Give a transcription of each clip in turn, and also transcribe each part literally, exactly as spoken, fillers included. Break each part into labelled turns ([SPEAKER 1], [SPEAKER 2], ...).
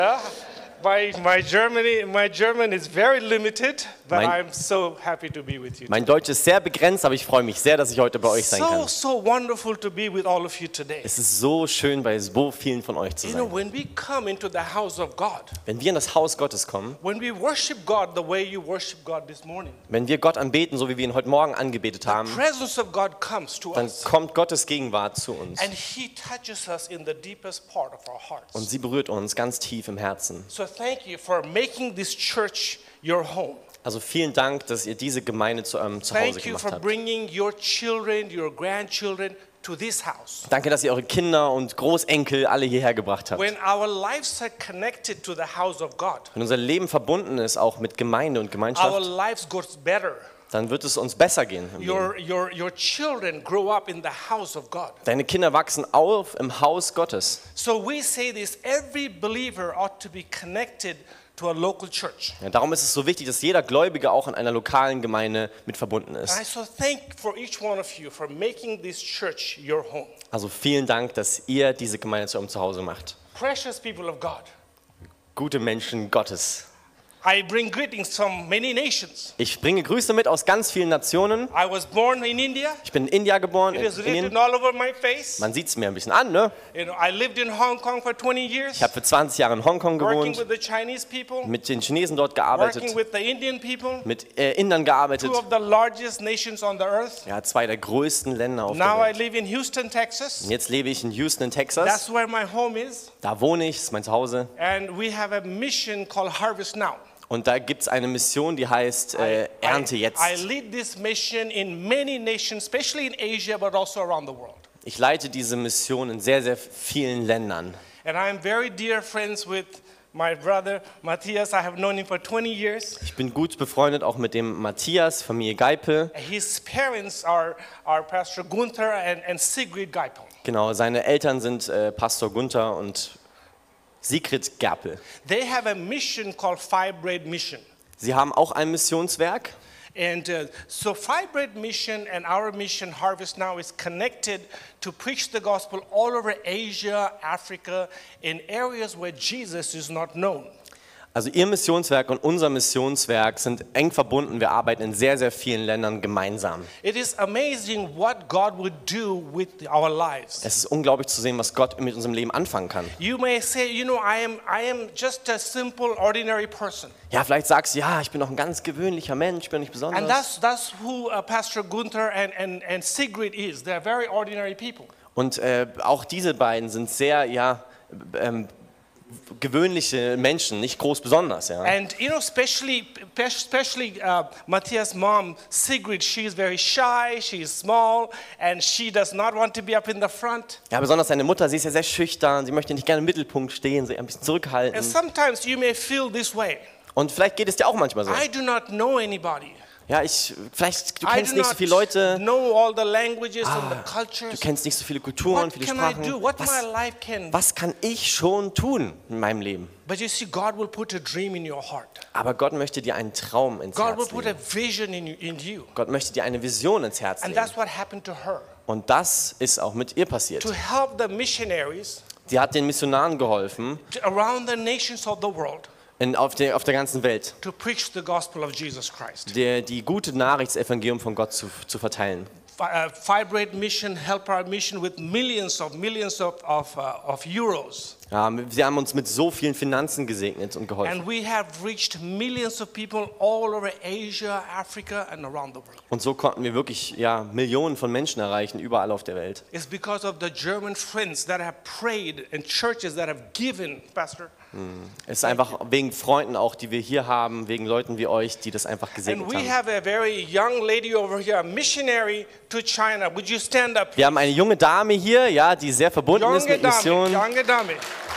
[SPEAKER 1] Yeah, my, my, Germany, my German is very limited, but
[SPEAKER 2] Mein-
[SPEAKER 1] I'm so happy to be with you.
[SPEAKER 2] Mein Deutsch ist sehr begrenzt, aber ich freue mich sehr, dass ich heute bei euch sein
[SPEAKER 1] So,
[SPEAKER 2] kann.
[SPEAKER 1] so wonderful to be with all of you today.
[SPEAKER 2] Es ist so schön, bei so vielen von euch zu
[SPEAKER 1] You know,
[SPEAKER 2] sein.
[SPEAKER 1] when we come into the house of God,
[SPEAKER 2] Wenn wir in das Haus Gottes kommen,
[SPEAKER 1] when we worship God the way you worship God this morning,
[SPEAKER 2] wenn wir Gott anbeten, so wie wir ihn heute Morgen angebetet
[SPEAKER 1] the
[SPEAKER 2] haben,
[SPEAKER 1] presence of God comes to
[SPEAKER 2] dann
[SPEAKER 1] us.
[SPEAKER 2] kommt Gottes Gegenwart zu uns.
[SPEAKER 1] And He touches us in the deepest part of our hearts.
[SPEAKER 2] Und sie berührt uns ganz tief im Herzen.
[SPEAKER 1] So thank you for making this church your home.
[SPEAKER 2] Also vielen Dank, dass ihr diese Gemeinde zu eurem Zuhause
[SPEAKER 1] Thank you
[SPEAKER 2] gemacht
[SPEAKER 1] for
[SPEAKER 2] habt.
[SPEAKER 1] bringing your children, your grandchildren to this house.
[SPEAKER 2] Danke, dass ihr eure Kinder und Großenkel alle hierher gebracht habt.
[SPEAKER 1] When our lives are connected to the house of God,
[SPEAKER 2] Wenn unser Leben verbunden ist, auch mit Gemeinde und
[SPEAKER 1] our
[SPEAKER 2] Gemeinschaft,
[SPEAKER 1] lives goes better.
[SPEAKER 2] dann wird es uns besser gehen im Leben.
[SPEAKER 1] Your, your, your children grow up in the house of God.
[SPEAKER 2] Deine Kinder wachsen auf im Haus Gottes.
[SPEAKER 1] So we say this, every believer ought to be connected to a local church.
[SPEAKER 2] Ja, darum ist es so wichtig, dass jeder Gläubige auch in einer lokalen Gemeinde mit verbunden
[SPEAKER 1] And I
[SPEAKER 2] ist.
[SPEAKER 1] so thank for each one of you for making this church your home.
[SPEAKER 2] Also vielen Dank, dass ihr diese Gemeinde zu eurem Zuhause macht.
[SPEAKER 1] Precious people of God,
[SPEAKER 2] Gute Menschen Gottes.
[SPEAKER 1] I bring greetings from many nations.
[SPEAKER 2] Ich bringe Grüße mit aus ganz vielen Nationen.
[SPEAKER 1] I was born in India.
[SPEAKER 2] Ich bin in India geboren,
[SPEAKER 1] It
[SPEAKER 2] in
[SPEAKER 1] is written
[SPEAKER 2] Indien.
[SPEAKER 1] all over my face.
[SPEAKER 2] Man sieht es mir ein bisschen an, ne?
[SPEAKER 1] You know, I lived in Hong Kong for twenty years,
[SPEAKER 2] Ich habe für zwanzig Jahre in Hongkong
[SPEAKER 1] working
[SPEAKER 2] gewohnt,
[SPEAKER 1] with the Chinese people,
[SPEAKER 2] mit den Chinesen dort
[SPEAKER 1] working
[SPEAKER 2] gearbeitet,
[SPEAKER 1] with the Indian people,
[SPEAKER 2] mit äh, Indern gearbeitet.
[SPEAKER 1] two of the largest nations on the earth.
[SPEAKER 2] Ja, zwei der größten Länder auf
[SPEAKER 1] Now
[SPEAKER 2] der
[SPEAKER 1] I
[SPEAKER 2] Welt.
[SPEAKER 1] live in Houston, Texas.
[SPEAKER 2] Und jetzt lebe ich in Houston in Texas.
[SPEAKER 1] That's where my home is.
[SPEAKER 2] Da wohne ich, ist mein Zuhause.
[SPEAKER 1] And we have a mission called Harvest Now.
[SPEAKER 2] Und da gibt es eine Mission, die heißt äh, Ernte jetzt.
[SPEAKER 1] I lead this mission in many nations, especially in Asia, but also around the world.
[SPEAKER 2] Ich leite diese Mission in sehr, sehr vielen Ländern.
[SPEAKER 1] And I am very dear friends with my brother Matthias. I have known him for twenty years.
[SPEAKER 2] Ich bin gut befreundet auch mit dem Matthias, Familie Geipel.
[SPEAKER 1] His parents are, are Pastor Gunther and, and Sigrid Geipel.
[SPEAKER 2] Genau, seine Eltern sind äh, Pastor Gunther und Sigrid Gerpel.
[SPEAKER 1] They have a mission called Five-Bread Mission.
[SPEAKER 2] Sie haben auch ein Missionswerk.
[SPEAKER 1] And uh, so Five-Bread Mission and our mission Harvest Now is connected to preach the gospel all over Asia, Africa, in areas where Jesus is not known.
[SPEAKER 2] Also ihr Missionswerk und unser Missionswerk sind eng verbunden. Wir arbeiten in sehr, sehr vielen Ländern gemeinsam.
[SPEAKER 1] It is amazing what God would do with our lives.
[SPEAKER 2] Es ist unglaublich zu sehen, was Gott mit unserem Leben anfangen kann.
[SPEAKER 1] You may say, you know, I am, I am just a simple, ordinary person.
[SPEAKER 2] Ja, vielleicht sagst du, ja, ich bin doch ein ganz gewöhnlicher Mensch, ich bin nicht
[SPEAKER 1] And
[SPEAKER 2] besonders.
[SPEAKER 1] that's, that's who uh, Pastor Gunther and, and, and Sigrid is. They're very ordinary people.
[SPEAKER 2] Und äh, auch diese beiden sind sehr, ja, ähm, gewöhnliche Menschen, nicht groß besonders. Ja.
[SPEAKER 1] And you know, especially, especially uh, Matthias' mom, Sigrid, she is very shy, she is small, and she does not want to be up in the front.
[SPEAKER 2] Ja, besonders seine Mutter, sie ist ja sehr schüchtern, sie möchte nicht gerne im Mittelpunkt stehen, sie ein bisschen zurückhalten.
[SPEAKER 1] And sometimes you may feel this way.
[SPEAKER 2] Und vielleicht geht es dir auch manchmal so.
[SPEAKER 1] I do not know anybody.
[SPEAKER 2] Ja, ich, vielleicht, du
[SPEAKER 1] I
[SPEAKER 2] kennst
[SPEAKER 1] do
[SPEAKER 2] nicht so
[SPEAKER 1] not
[SPEAKER 2] viele Leute,
[SPEAKER 1] know all the languages and the
[SPEAKER 2] du
[SPEAKER 1] cultures.
[SPEAKER 2] kennst nicht so viele Kulturen,
[SPEAKER 1] What
[SPEAKER 2] viele
[SPEAKER 1] can I do?
[SPEAKER 2] Sprachen.
[SPEAKER 1] What my
[SPEAKER 2] Was,
[SPEAKER 1] life can?
[SPEAKER 2] was kann ich schon tun in meinem Leben?
[SPEAKER 1] But you see, God will put a dream in your heart.
[SPEAKER 2] Aber Gott möchte dir einen Traum ins
[SPEAKER 1] God will
[SPEAKER 2] Herz
[SPEAKER 1] put a
[SPEAKER 2] legen.
[SPEAKER 1] vision in you, in you.
[SPEAKER 2] Gott möchte dir eine Vision ins Herz
[SPEAKER 1] And
[SPEAKER 2] legen.
[SPEAKER 1] that's what happened to her.
[SPEAKER 2] Und das ist auch mit ihr passiert.
[SPEAKER 1] To help the missionaries
[SPEAKER 2] Sie hat den Missionaren geholfen,
[SPEAKER 1] to- around the nations of the world
[SPEAKER 2] in, auf, der, auf der ganzen Welt,
[SPEAKER 1] to preach the gospel of Jesus Christ.
[SPEAKER 2] die, die gute Nachricht, das Evangelium von Gott zu, zu verteilen.
[SPEAKER 1] Fi- uh, Five-Bread Mission helped our mission with millions of millions of, of, uh, of euros.
[SPEAKER 2] Ja, sie haben uns mit so vielen Finanzen gesegnet und geholfen.
[SPEAKER 1] And we have reached millions of people all over Asia, Africa, and around the world.
[SPEAKER 2] Und so konnten wir wirklich ja, Millionen von Menschen erreichen, überall auf der Welt.
[SPEAKER 1] It's because of the German friends that have prayed and churches that have given, Pastor.
[SPEAKER 2] Es ist einfach wegen Freunden auch, die wir hier haben, wegen Leuten wie euch, die das einfach
[SPEAKER 1] And
[SPEAKER 2] gesegnet
[SPEAKER 1] we
[SPEAKER 2] haben.
[SPEAKER 1] have a very young lady over here, a missionary to China. Would you stand up?
[SPEAKER 2] Wir haben eine junge Dame hier, ja, die sehr verbunden ist
[SPEAKER 1] Younger
[SPEAKER 2] mit
[SPEAKER 1] Dame,
[SPEAKER 2] Mission.
[SPEAKER 1] younger Dame.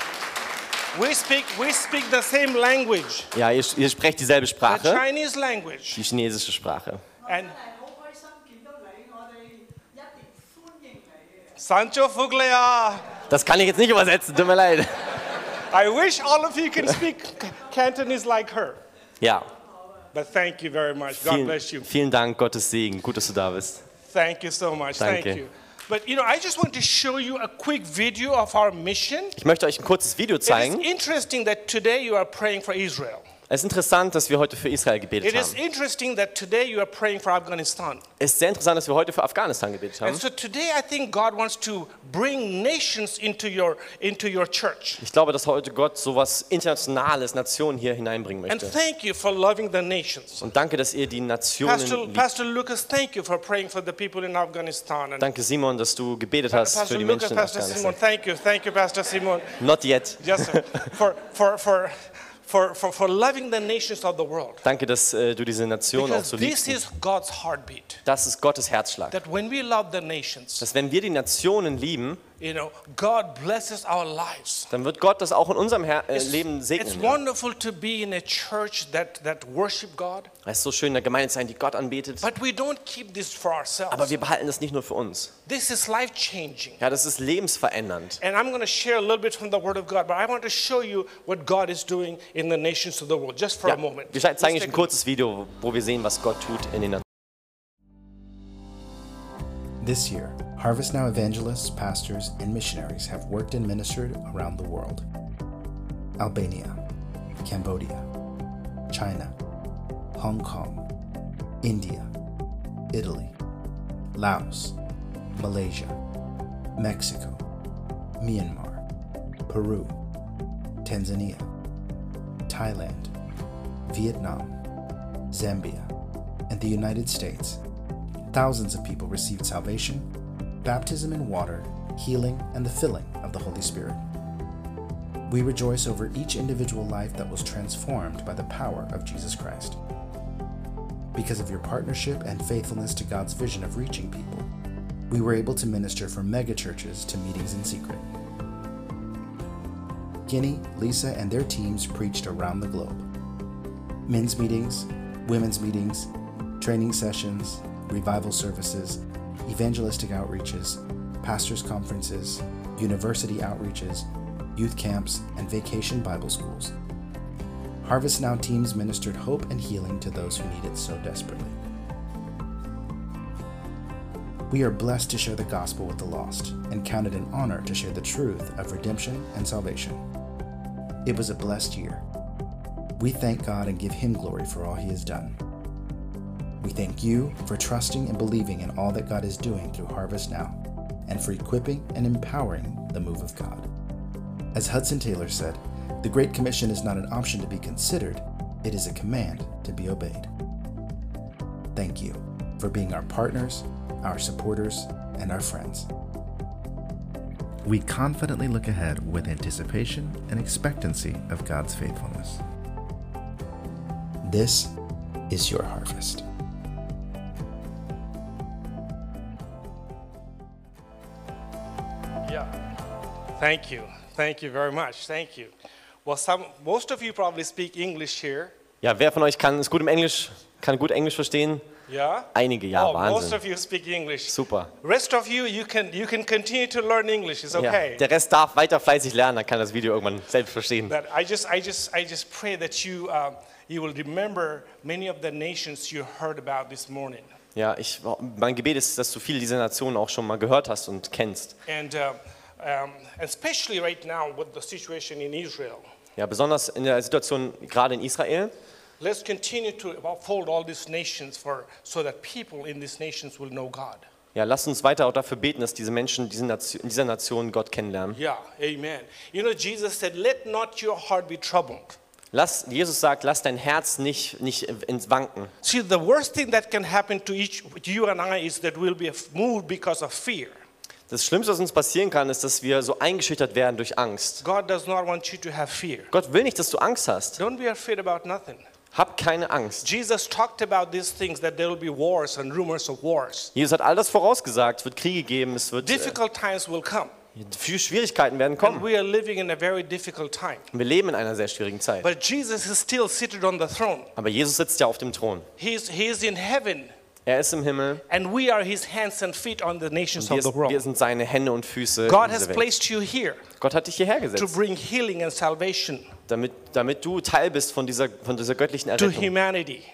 [SPEAKER 1] We speak, we speak the same language,
[SPEAKER 2] Ja, ihr, ihr sprecht dieselbe
[SPEAKER 1] the
[SPEAKER 2] Sprache,
[SPEAKER 1] Chinese language.
[SPEAKER 2] die chinesische Sprache.
[SPEAKER 1] And
[SPEAKER 3] 好開心見到你，我哋一定歡迎你嘅。
[SPEAKER 1] Sancho Fuglea.
[SPEAKER 2] Das kann ich jetzt nicht übersetzen, tut mir leid.
[SPEAKER 1] I wish all of you can speak Cantonese like her.
[SPEAKER 2] Ja,
[SPEAKER 1] But thank you very much. God bless you.
[SPEAKER 2] vielen, vielen Dank, Gottes Segen. Gut, dass du da bist.
[SPEAKER 1] Thank you so much.
[SPEAKER 2] Danke.
[SPEAKER 1] Thank you. But you know, I just want to show you a quick video of our mission.
[SPEAKER 2] Ich möchte euch ein kurzes Video
[SPEAKER 1] It is
[SPEAKER 2] zeigen.
[SPEAKER 1] interesting that today you are praying for Israel.
[SPEAKER 2] Es ist interessant, dass wir heute für Israel gebetet
[SPEAKER 1] It is
[SPEAKER 2] haben.
[SPEAKER 1] interesting that today you are praying for Afghanistan.
[SPEAKER 2] Es ist sehr interessant, dass wir heute für Afghanistan gebetet haben.
[SPEAKER 1] And so today I think God wants to bring nations into your into your church.
[SPEAKER 2] Ich glaube, dass heute Gott sowas Internationales, Nationen hier hineinbringen
[SPEAKER 1] And
[SPEAKER 2] möchte.
[SPEAKER 1] thank you for loving the nations.
[SPEAKER 2] Und danke, dass ihr die Nationen
[SPEAKER 1] Pastor,
[SPEAKER 2] liebt.
[SPEAKER 1] Pastor Lucas, thank you for praying for the people in Afghanistan. And
[SPEAKER 2] Danke, Simon, dass du gebetet hast
[SPEAKER 1] Pastor
[SPEAKER 2] für die
[SPEAKER 1] Lucas,
[SPEAKER 2] Menschen in
[SPEAKER 1] Pastor Simon,
[SPEAKER 2] Afghanistan.
[SPEAKER 1] thank you, thank you, Pastor Simon.
[SPEAKER 2] Not yet.
[SPEAKER 1] Yes, sir. for for for. For, for, for loving the nations of the world.
[SPEAKER 2] Danke, dass äh, du diese Nation auch
[SPEAKER 1] Because
[SPEAKER 2] so
[SPEAKER 1] this
[SPEAKER 2] liebst.
[SPEAKER 1] is God's heartbeat.
[SPEAKER 2] Das ist Gottes Herzschlag.
[SPEAKER 1] That when we love the nations,
[SPEAKER 2] Dass wenn wir die Nationen lieben,
[SPEAKER 1] you know, God blesses our lives.
[SPEAKER 2] dann wird Gott das auch in unserem Her äh,
[SPEAKER 1] It's,
[SPEAKER 2] Leben
[SPEAKER 1] it's
[SPEAKER 2] segnen.
[SPEAKER 1] wonderful to be in a church that, that worship God,
[SPEAKER 2] Es ist so schön, in der Gemeinde zu sein, die Gott anbetet.
[SPEAKER 1] but we don't keep this for
[SPEAKER 2] Aber
[SPEAKER 1] ourselves.
[SPEAKER 2] wir behalten das nicht nur für uns.
[SPEAKER 1] This is life-changing.
[SPEAKER 2] Ja, das ist lebensverändernd.
[SPEAKER 1] And I'm going to share a little bit from the Word of God, but I want to show you what God is doing in the nations of the world, just for
[SPEAKER 2] Ja,
[SPEAKER 1] a moment.
[SPEAKER 2] wir
[SPEAKER 1] Let's
[SPEAKER 2] zeigen euch
[SPEAKER 1] take
[SPEAKER 2] ein
[SPEAKER 1] a
[SPEAKER 2] kurzes Video, wo wir sehen, was Gott tut in den Nationen.
[SPEAKER 4] This year, Harvest Now evangelists, pastors, and missionaries have worked and ministered around the world. Albania, Cambodia, China, Hong Kong, India, Italy, Laos, Malaysia, Mexico, Myanmar, Peru, Tanzania, Thailand, Vietnam, Zambia, and the United States. Thousands of people received salvation, baptism in water, healing, and the filling of the Holy Spirit. We rejoice over each individual life that was transformed by the power of Jesus Christ. Because of your partnership and faithfulness to God's vision of reaching people, we were able to minister from megachurches to meetings in secret. Guinea, Lisa, and their teams preached around the globe. Men's meetings, women's meetings, training sessions, revival services, evangelistic outreaches, pastors' conferences, university outreaches, youth camps, and vacation Bible schools. Harvest Now teams ministered hope and healing to those who need it so desperately. We are blessed to share the gospel with the lost and count it an honor to share the truth of redemption and salvation. It was a blessed year. We thank God and give Him glory for all He has done. We thank you for trusting and believing in all that God is doing through Harvest Now, and for equipping and empowering the move of God. As Hudson Taylor said, the Great Commission is not an option to be considered, it is a command to be obeyed. Thank you for being our partners, our supporters, and our friends. We confidently look ahead with anticipation and expectancy of God's faithfulness. This is your harvest.
[SPEAKER 1] Yeah. Thank you. Thank you very much. Thank you. Well, some, most of you probably speak English here.
[SPEAKER 2] Ja, wer von euch kann ist gut im Englisch, kann gut Englisch verstehen?
[SPEAKER 1] Yeah?
[SPEAKER 2] Einige, ja,
[SPEAKER 1] oh, most
[SPEAKER 2] Wahnsinn.
[SPEAKER 1] of you speak English.
[SPEAKER 2] Super.
[SPEAKER 1] Rest of you, you can, you can continue to learn English. It's
[SPEAKER 2] Ja,
[SPEAKER 1] okay.
[SPEAKER 2] der Rest darf weiter fleißig lernen, dann kann das Video irgendwann selbst verstehen.
[SPEAKER 1] That I just, I just, I just pray that you, um, you will remember many of the nations you heard about this morning.
[SPEAKER 2] Ja, ich, mein Gebet ist, dass du viele dieser Nationen auch schon mal gehört hast und kennst.
[SPEAKER 1] And uh, um, especially right now with the situation in Israel.
[SPEAKER 2] Ja, besonders in der Situation gerade in Israel.
[SPEAKER 1] Let's continue to uphold all these nations for, so that people in these nations will know God.
[SPEAKER 2] Ja, lasst uns weiter auch dafür beten, dass diese Menschen diese Nation, in dieser Nation Gott kennenlernen.
[SPEAKER 1] Yeah, amen. You know, Jesus said, let not your heart be troubled.
[SPEAKER 2] Lass, Jesus sagt, lass dein Herz nicht, nicht ins Wanken.
[SPEAKER 1] See, the worst thing that can happen to each, to you and I is that we'll be moved because of fear.
[SPEAKER 2] Das Schlimmste, was uns passieren kann, ist, dass wir so eingeschüchtert werden durch Angst.
[SPEAKER 1] God does not want you to have fear.
[SPEAKER 2] Gott will nicht, dass du Angst hast.
[SPEAKER 1] Don't be afraid about nothing.
[SPEAKER 2] Hab keine Angst.
[SPEAKER 1] Jesus talked about these things, that there will be wars and rumors of wars.
[SPEAKER 2] Jesus hat all das vorausgesagt. Es wird Kriege geben, es wird äh,
[SPEAKER 1] Difficult times will come.
[SPEAKER 2] viele Schwierigkeiten werden
[SPEAKER 1] And
[SPEAKER 2] kommen.
[SPEAKER 1] we are living in a very difficult time.
[SPEAKER 2] Wir leben in einer sehr schwierigen Zeit.
[SPEAKER 1] But Jesus is still seated on the throne.
[SPEAKER 2] Aber Jesus sitzt ja auf dem Thron.
[SPEAKER 1] He's, he is in heaven.
[SPEAKER 2] Er ist im Himmel.
[SPEAKER 1] And we are his hands and feet on the nations
[SPEAKER 2] Wir,
[SPEAKER 1] of the
[SPEAKER 2] wir
[SPEAKER 1] world.
[SPEAKER 2] sind seine Hände und Füße
[SPEAKER 1] God
[SPEAKER 2] in
[SPEAKER 1] has
[SPEAKER 2] dieser Welt.
[SPEAKER 1] placed you here
[SPEAKER 2] Gott hat dich hierher
[SPEAKER 1] to
[SPEAKER 2] gesetzt,
[SPEAKER 1] bring healing and salvation
[SPEAKER 2] damit, damit du Teil bist von dieser, von dieser göttlichen
[SPEAKER 1] to
[SPEAKER 2] Errettung,
[SPEAKER 1] humanity.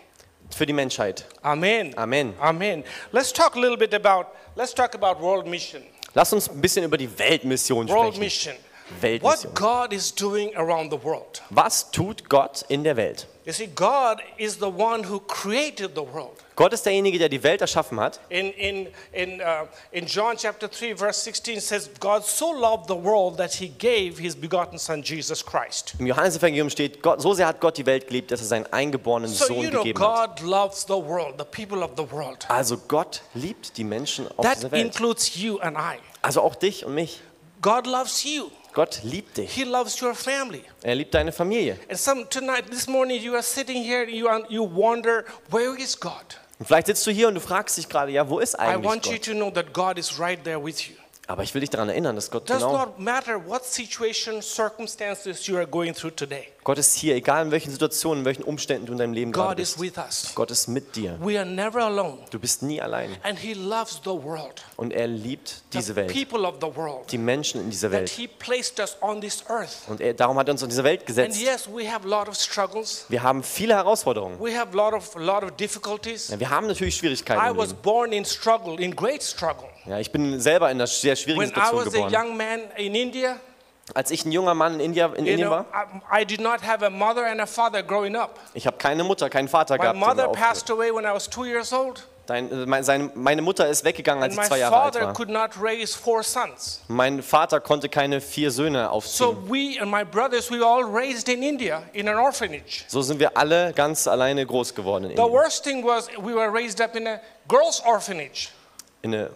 [SPEAKER 2] für die Menschheit.
[SPEAKER 1] Amen.
[SPEAKER 2] Amen.
[SPEAKER 1] Amen. Let's talk a little bit about, let's talk about world mission.
[SPEAKER 2] Lass uns ein bisschen über die Weltmission
[SPEAKER 1] World
[SPEAKER 2] sprechen.
[SPEAKER 1] mission.
[SPEAKER 2] Weltmission.
[SPEAKER 1] What God is doing around the world.
[SPEAKER 2] Was tut Gott in der Welt?
[SPEAKER 1] You see, God is the one who created the world.
[SPEAKER 2] Gott ist derjenige, der die Welt erschaffen hat.
[SPEAKER 1] In, in, in, uh, in John chapter three, verse sixteen says, God so loved the world that he gave his begotten son, Jesus Christ.
[SPEAKER 2] Im Johannesevangelium steht, Gott, so sehr hat Gott die Welt geliebt, dass er seinen eingeborenen
[SPEAKER 1] So,
[SPEAKER 2] Sohn
[SPEAKER 1] you know,
[SPEAKER 2] gegeben hat.
[SPEAKER 1] God loves the world, the people of the world.
[SPEAKER 2] Also Gott liebt die Menschen auf
[SPEAKER 1] That
[SPEAKER 2] dieser Welt.
[SPEAKER 1] includes you and I.
[SPEAKER 2] Also auch dich und mich.
[SPEAKER 1] God loves you.
[SPEAKER 2] Gott liebt dich.
[SPEAKER 1] He loves your family.
[SPEAKER 2] Er liebt deine Familie.
[SPEAKER 1] And some tonight, this morning, you are sitting here and you, are, you wonder, where is God?
[SPEAKER 2] Und vielleicht sitzt du hier und du fragst dich gerade, ja, wo ist
[SPEAKER 1] I
[SPEAKER 2] eigentlich
[SPEAKER 1] want you
[SPEAKER 2] Gott?
[SPEAKER 1] to know that God is right there with you.
[SPEAKER 2] Aber ich will dich daran erinnern, dass Gott
[SPEAKER 1] Does
[SPEAKER 2] genau,
[SPEAKER 1] not matter what situation, circumstances you are going through today.
[SPEAKER 2] Gott ist hier, egal in welchen Situationen, in welchen Umständen du in deinem Leben gerade
[SPEAKER 1] God is
[SPEAKER 2] bist.
[SPEAKER 1] with us.
[SPEAKER 2] Gott ist mit dir.
[SPEAKER 1] We are never alone.
[SPEAKER 2] Du bist nie allein.
[SPEAKER 1] And he loves the world.
[SPEAKER 2] Und er liebt diese
[SPEAKER 1] The
[SPEAKER 2] Welt,
[SPEAKER 1] people of the world.
[SPEAKER 2] die Menschen in dieser
[SPEAKER 1] That
[SPEAKER 2] Welt.
[SPEAKER 1] he placed us on this earth.
[SPEAKER 2] Und er, darum hat er uns in diese Welt
[SPEAKER 1] And
[SPEAKER 2] gesetzt.
[SPEAKER 1] yes, we have a lot of struggles.
[SPEAKER 2] Wir haben viele Herausforderungen.
[SPEAKER 1] We have a lot of, a lot of difficulties.
[SPEAKER 2] Ja, wir haben natürlich
[SPEAKER 1] I
[SPEAKER 2] Schwierigkeiten im
[SPEAKER 1] was
[SPEAKER 2] Leben.
[SPEAKER 1] born in struggle, in great struggle.
[SPEAKER 2] Ja, ich bin selber in einer sehr schwierigen
[SPEAKER 1] When I
[SPEAKER 2] Situation
[SPEAKER 1] was a
[SPEAKER 2] geboren.
[SPEAKER 1] young man in India,
[SPEAKER 2] Als ich ein junger Mann in, India, in
[SPEAKER 1] you
[SPEAKER 2] Indien
[SPEAKER 1] know,
[SPEAKER 2] war,
[SPEAKER 1] I, I did not have a mother and a father growing up.
[SPEAKER 2] ich habe keine Mutter, keinen Vater
[SPEAKER 1] My
[SPEAKER 2] gehabt. der mir
[SPEAKER 1] mother
[SPEAKER 2] aufgehört.
[SPEAKER 1] passed away when I was two years old.
[SPEAKER 2] Dein, äh, mein- seine, meine Mutter ist weggegangen, als
[SPEAKER 1] And
[SPEAKER 2] ich
[SPEAKER 1] my
[SPEAKER 2] zwei Jahre alt
[SPEAKER 1] father
[SPEAKER 2] war.
[SPEAKER 1] could not raise four sons.
[SPEAKER 2] Mein Vater konnte keine vier Söhne
[SPEAKER 1] So
[SPEAKER 2] aufziehen.
[SPEAKER 1] we and my brothers, we were all raised in India in an orphanage.
[SPEAKER 2] So sind wir alle ganz alleine groß geworden in
[SPEAKER 1] The
[SPEAKER 2] Indien.
[SPEAKER 1] worst thing was we were raised up in a girls' orphanage.
[SPEAKER 2] In eine,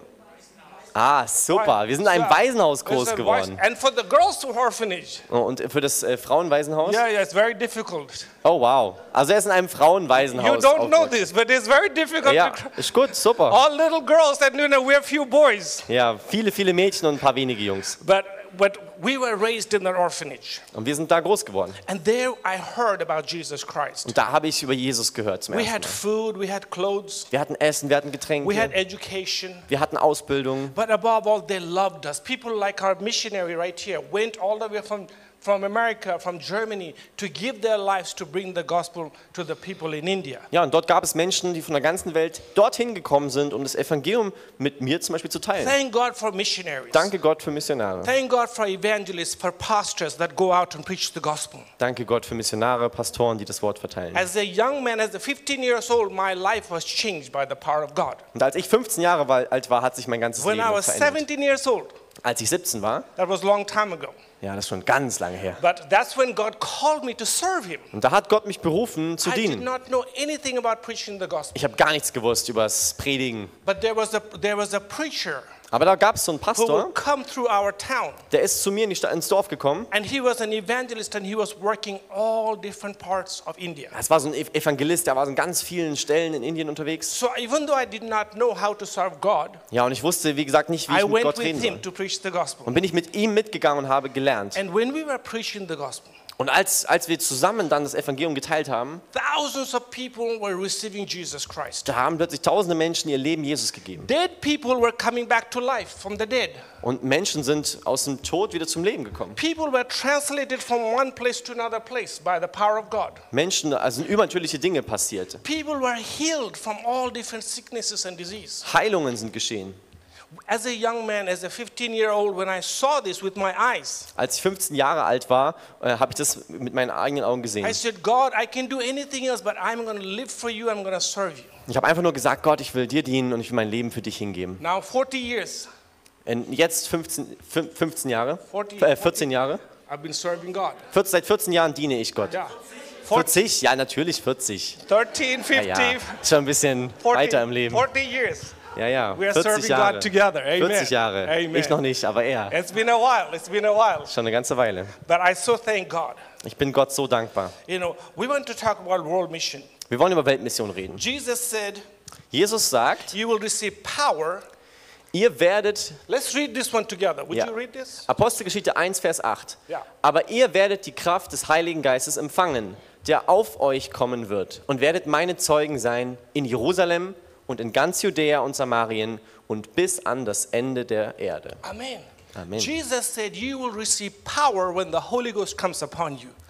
[SPEAKER 2] ah, super. Wir sind in einem
[SPEAKER 1] So,
[SPEAKER 2] Waisenhaus
[SPEAKER 1] there's
[SPEAKER 2] groß
[SPEAKER 1] a
[SPEAKER 2] geworden.
[SPEAKER 1] voice- And for the girls' orphanage,
[SPEAKER 2] Und für das äh, Frauenwaisenhaus?
[SPEAKER 1] yeah, yeah, it's very difficult.
[SPEAKER 2] Oh, wow. Also er ist in einem
[SPEAKER 1] You
[SPEAKER 2] Frauenwaisenhaus
[SPEAKER 1] don't know
[SPEAKER 2] aufgewachsen.
[SPEAKER 1] this, but it's very difficult.
[SPEAKER 2] Ja,
[SPEAKER 1] To,
[SPEAKER 2] ist gut, super.
[SPEAKER 1] all little girls, and you know, we're few boys.
[SPEAKER 2] Ja, viele, viele Mädchen und ein paar wenige Jungs.
[SPEAKER 1] But but we were raised in an orphanage,
[SPEAKER 2] Und wir sind da groß geworden.
[SPEAKER 1] and there I heard about Jesus Christ.
[SPEAKER 2] Und da habe ich über Jesus gehört zum
[SPEAKER 1] We
[SPEAKER 2] ersten
[SPEAKER 1] had
[SPEAKER 2] Mal.
[SPEAKER 1] food, we had clothes,
[SPEAKER 2] Wir hatten Essen, wir hatten
[SPEAKER 1] we had
[SPEAKER 2] Getränke,
[SPEAKER 1] education.
[SPEAKER 2] wir hatten Ausbildung.
[SPEAKER 1] But above all, they loved us. People like our missionary right here went all the way from, from America, from Germany, to give their lives to bring the gospel to the people in India.
[SPEAKER 2] Ja, und dort gab es Menschen, die von der ganzen Welt dorthin gekommen sind, um das Evangelium mit mir zum Beispiel zu teilen.
[SPEAKER 1] Thank God for missionaries.
[SPEAKER 2] Danke Gott für Missionare.
[SPEAKER 1] Thank God for evangelists, for pastors that go out and preach the gospel.
[SPEAKER 2] Danke Gott für Missionare, Pastoren, die das Wort verteilen.
[SPEAKER 1] As a young man, as a fifteen years old, my life was changed by the power of God.
[SPEAKER 2] Und als ich fünfzehn Jahre war- alt war, hat sich mein ganzes
[SPEAKER 1] When I
[SPEAKER 2] Leben
[SPEAKER 1] was
[SPEAKER 2] verändert.
[SPEAKER 1] seventeen years old,
[SPEAKER 2] Als ich siebzehn war,
[SPEAKER 1] that was a long time ago.
[SPEAKER 2] ja, das ist schon ganz lange her.
[SPEAKER 1] But that's when God called me to serve Him.
[SPEAKER 2] Und da hat Gott mich berufen zu
[SPEAKER 1] I did
[SPEAKER 2] dienen.
[SPEAKER 1] not know anything about preaching the gospel.
[SPEAKER 2] Ich habe gar nichts gewusst über das Predigen.
[SPEAKER 1] But there was a, there was a preacher
[SPEAKER 2] Aber da gab es so einen
[SPEAKER 1] who
[SPEAKER 2] Pastor,
[SPEAKER 1] would come through our town.
[SPEAKER 2] der ist zu mir in die Stadt, ins Dorf gekommen.
[SPEAKER 1] And he was an evangelist and he was working all different parts of India.
[SPEAKER 2] Es war so ein Ev- Evangelist, der war so an ganz vielen Stellen in Indien unterwegs.
[SPEAKER 1] So even though I did not know how to serve God,
[SPEAKER 2] Ja, und ich wusste, wie gesagt, nicht, wie
[SPEAKER 1] I
[SPEAKER 2] ich mit
[SPEAKER 1] went
[SPEAKER 2] Gott
[SPEAKER 1] with
[SPEAKER 2] reden
[SPEAKER 1] him
[SPEAKER 2] soll.
[SPEAKER 1] to preach the gospel.
[SPEAKER 2] Und bin ich mit ihm mitgegangen und habe gelernt.
[SPEAKER 1] And when we were preaching the gospel,
[SPEAKER 2] Und als, als wir zusammen dann das Evangelium geteilt haben,
[SPEAKER 1] thousands of people were receiving Jesus Christ.
[SPEAKER 2] da haben plötzlich tausende Menschen ihr Leben Jesus gegeben.
[SPEAKER 1] Dead people were coming back to life from the dead.
[SPEAKER 2] Und Menschen sind aus dem Tod wieder zum Leben gekommen.
[SPEAKER 1] People were translated from one place to another place by the power of God.
[SPEAKER 2] Menschen, also sind übernatürliche Dinge passiert.
[SPEAKER 1] People were healed from all different sicknesses and disease.
[SPEAKER 2] Heilungen sind geschehen.
[SPEAKER 1] As a young man, as a fifteen-year-old, when I saw this with my eyes,
[SPEAKER 2] Als ich fünfzehn Jahre alt war, äh, habe ich das mit meinen eigenen Augen gesehen.
[SPEAKER 1] I said, God, I can do anything else, but I'm going to live for you, I'm going to serve you.
[SPEAKER 2] Ich habe einfach nur gesagt, Gott, ich will dir dienen und ich will mein Leben für dich hingeben.
[SPEAKER 1] Now, forty years,
[SPEAKER 2] Und jetzt fünfzehn, fün- fünfzehn Jahre,
[SPEAKER 1] forty,
[SPEAKER 2] äh, vierzehn Jahre,
[SPEAKER 1] I've been serving God.
[SPEAKER 2] vierzehn, seit vierzehn Jahren diene ich Gott.
[SPEAKER 1] Yeah. forty,
[SPEAKER 2] vierzig? Ja, natürlich vierzig.
[SPEAKER 1] thirteen,
[SPEAKER 2] Ja,
[SPEAKER 1] fifteen,
[SPEAKER 2] ja, schon ein bisschen
[SPEAKER 1] forty,
[SPEAKER 2] weiter im Leben.
[SPEAKER 1] forty years.
[SPEAKER 2] Ja, ja,
[SPEAKER 1] We are
[SPEAKER 2] vierzig
[SPEAKER 1] serving
[SPEAKER 2] Jahre.
[SPEAKER 1] God together. Amen.
[SPEAKER 2] vierzig Jahre.
[SPEAKER 1] Amen.
[SPEAKER 2] Ich noch nicht, aber er.
[SPEAKER 1] It's been a while. It's been a while.
[SPEAKER 2] Schon eine ganze Weile.
[SPEAKER 1] But I so thank God.
[SPEAKER 2] Ich bin Gott so dankbar.
[SPEAKER 1] You know, we want to talk about world mission.
[SPEAKER 2] Wir wollen über Weltmission reden.
[SPEAKER 1] Jesus said,
[SPEAKER 2] Jesus sagt,
[SPEAKER 1] you will receive power.
[SPEAKER 2] ihr werdet,
[SPEAKER 1] Let's read this one together. Would
[SPEAKER 2] Ja.
[SPEAKER 1] you read this?
[SPEAKER 2] Apostelgeschichte eins, Vers acht,
[SPEAKER 1] Ja.
[SPEAKER 2] aber ihr werdet die Kraft des Heiligen Geistes empfangen, der auf euch kommen wird und werdet meine Zeugen sein in Jerusalem und in ganz Judäa und Samarien und bis an das Ende der Erde.
[SPEAKER 1] Amen.
[SPEAKER 2] Amen.
[SPEAKER 1] Jesus said, you will receive power when the Holy Ghost comes upon you.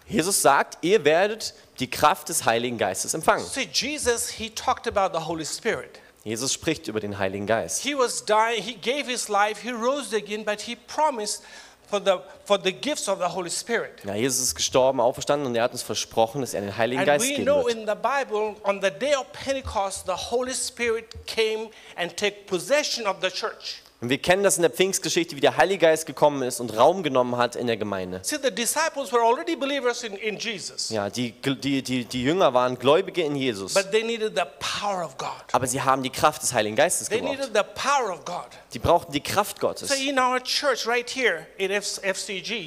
[SPEAKER 2] Jesus sagt, ihr werdet die Kraft des Heiligen Geistes empfangen.
[SPEAKER 1] See, Jesus, he talked about the Holy Spirit.
[SPEAKER 2] Jesus spricht über den Heiligen Geist.
[SPEAKER 1] He was dying, he gave his life, he rose again, but he promised for the, for the gifts of the Holy Spirit.
[SPEAKER 2] Ja, Jesus ist gestorben, auferstanden und er hat uns versprochen, dass er den Heiligen
[SPEAKER 1] And
[SPEAKER 2] Geist
[SPEAKER 1] we
[SPEAKER 2] geben
[SPEAKER 1] know
[SPEAKER 2] wird.
[SPEAKER 1] in the Bible, on the day of Pentecost, the Holy Spirit came and took possession of the church.
[SPEAKER 2] Und wir kennen das in der Pfingstgeschichte, wie der Heilige Geist gekommen ist und Raum genommen hat in der Gemeinde.
[SPEAKER 1] See, the disciples were already believers in, in Jesus,
[SPEAKER 2] Ja, die, die, die, die Jünger waren Gläubige in Jesus,
[SPEAKER 1] but they needed the power of God.
[SPEAKER 2] aber sie haben die Kraft des Heiligen Geistes
[SPEAKER 1] They
[SPEAKER 2] gebraucht.
[SPEAKER 1] needed the power of God.
[SPEAKER 2] Die brauchten die Kraft Gottes.
[SPEAKER 1] So in our church right here at F C G,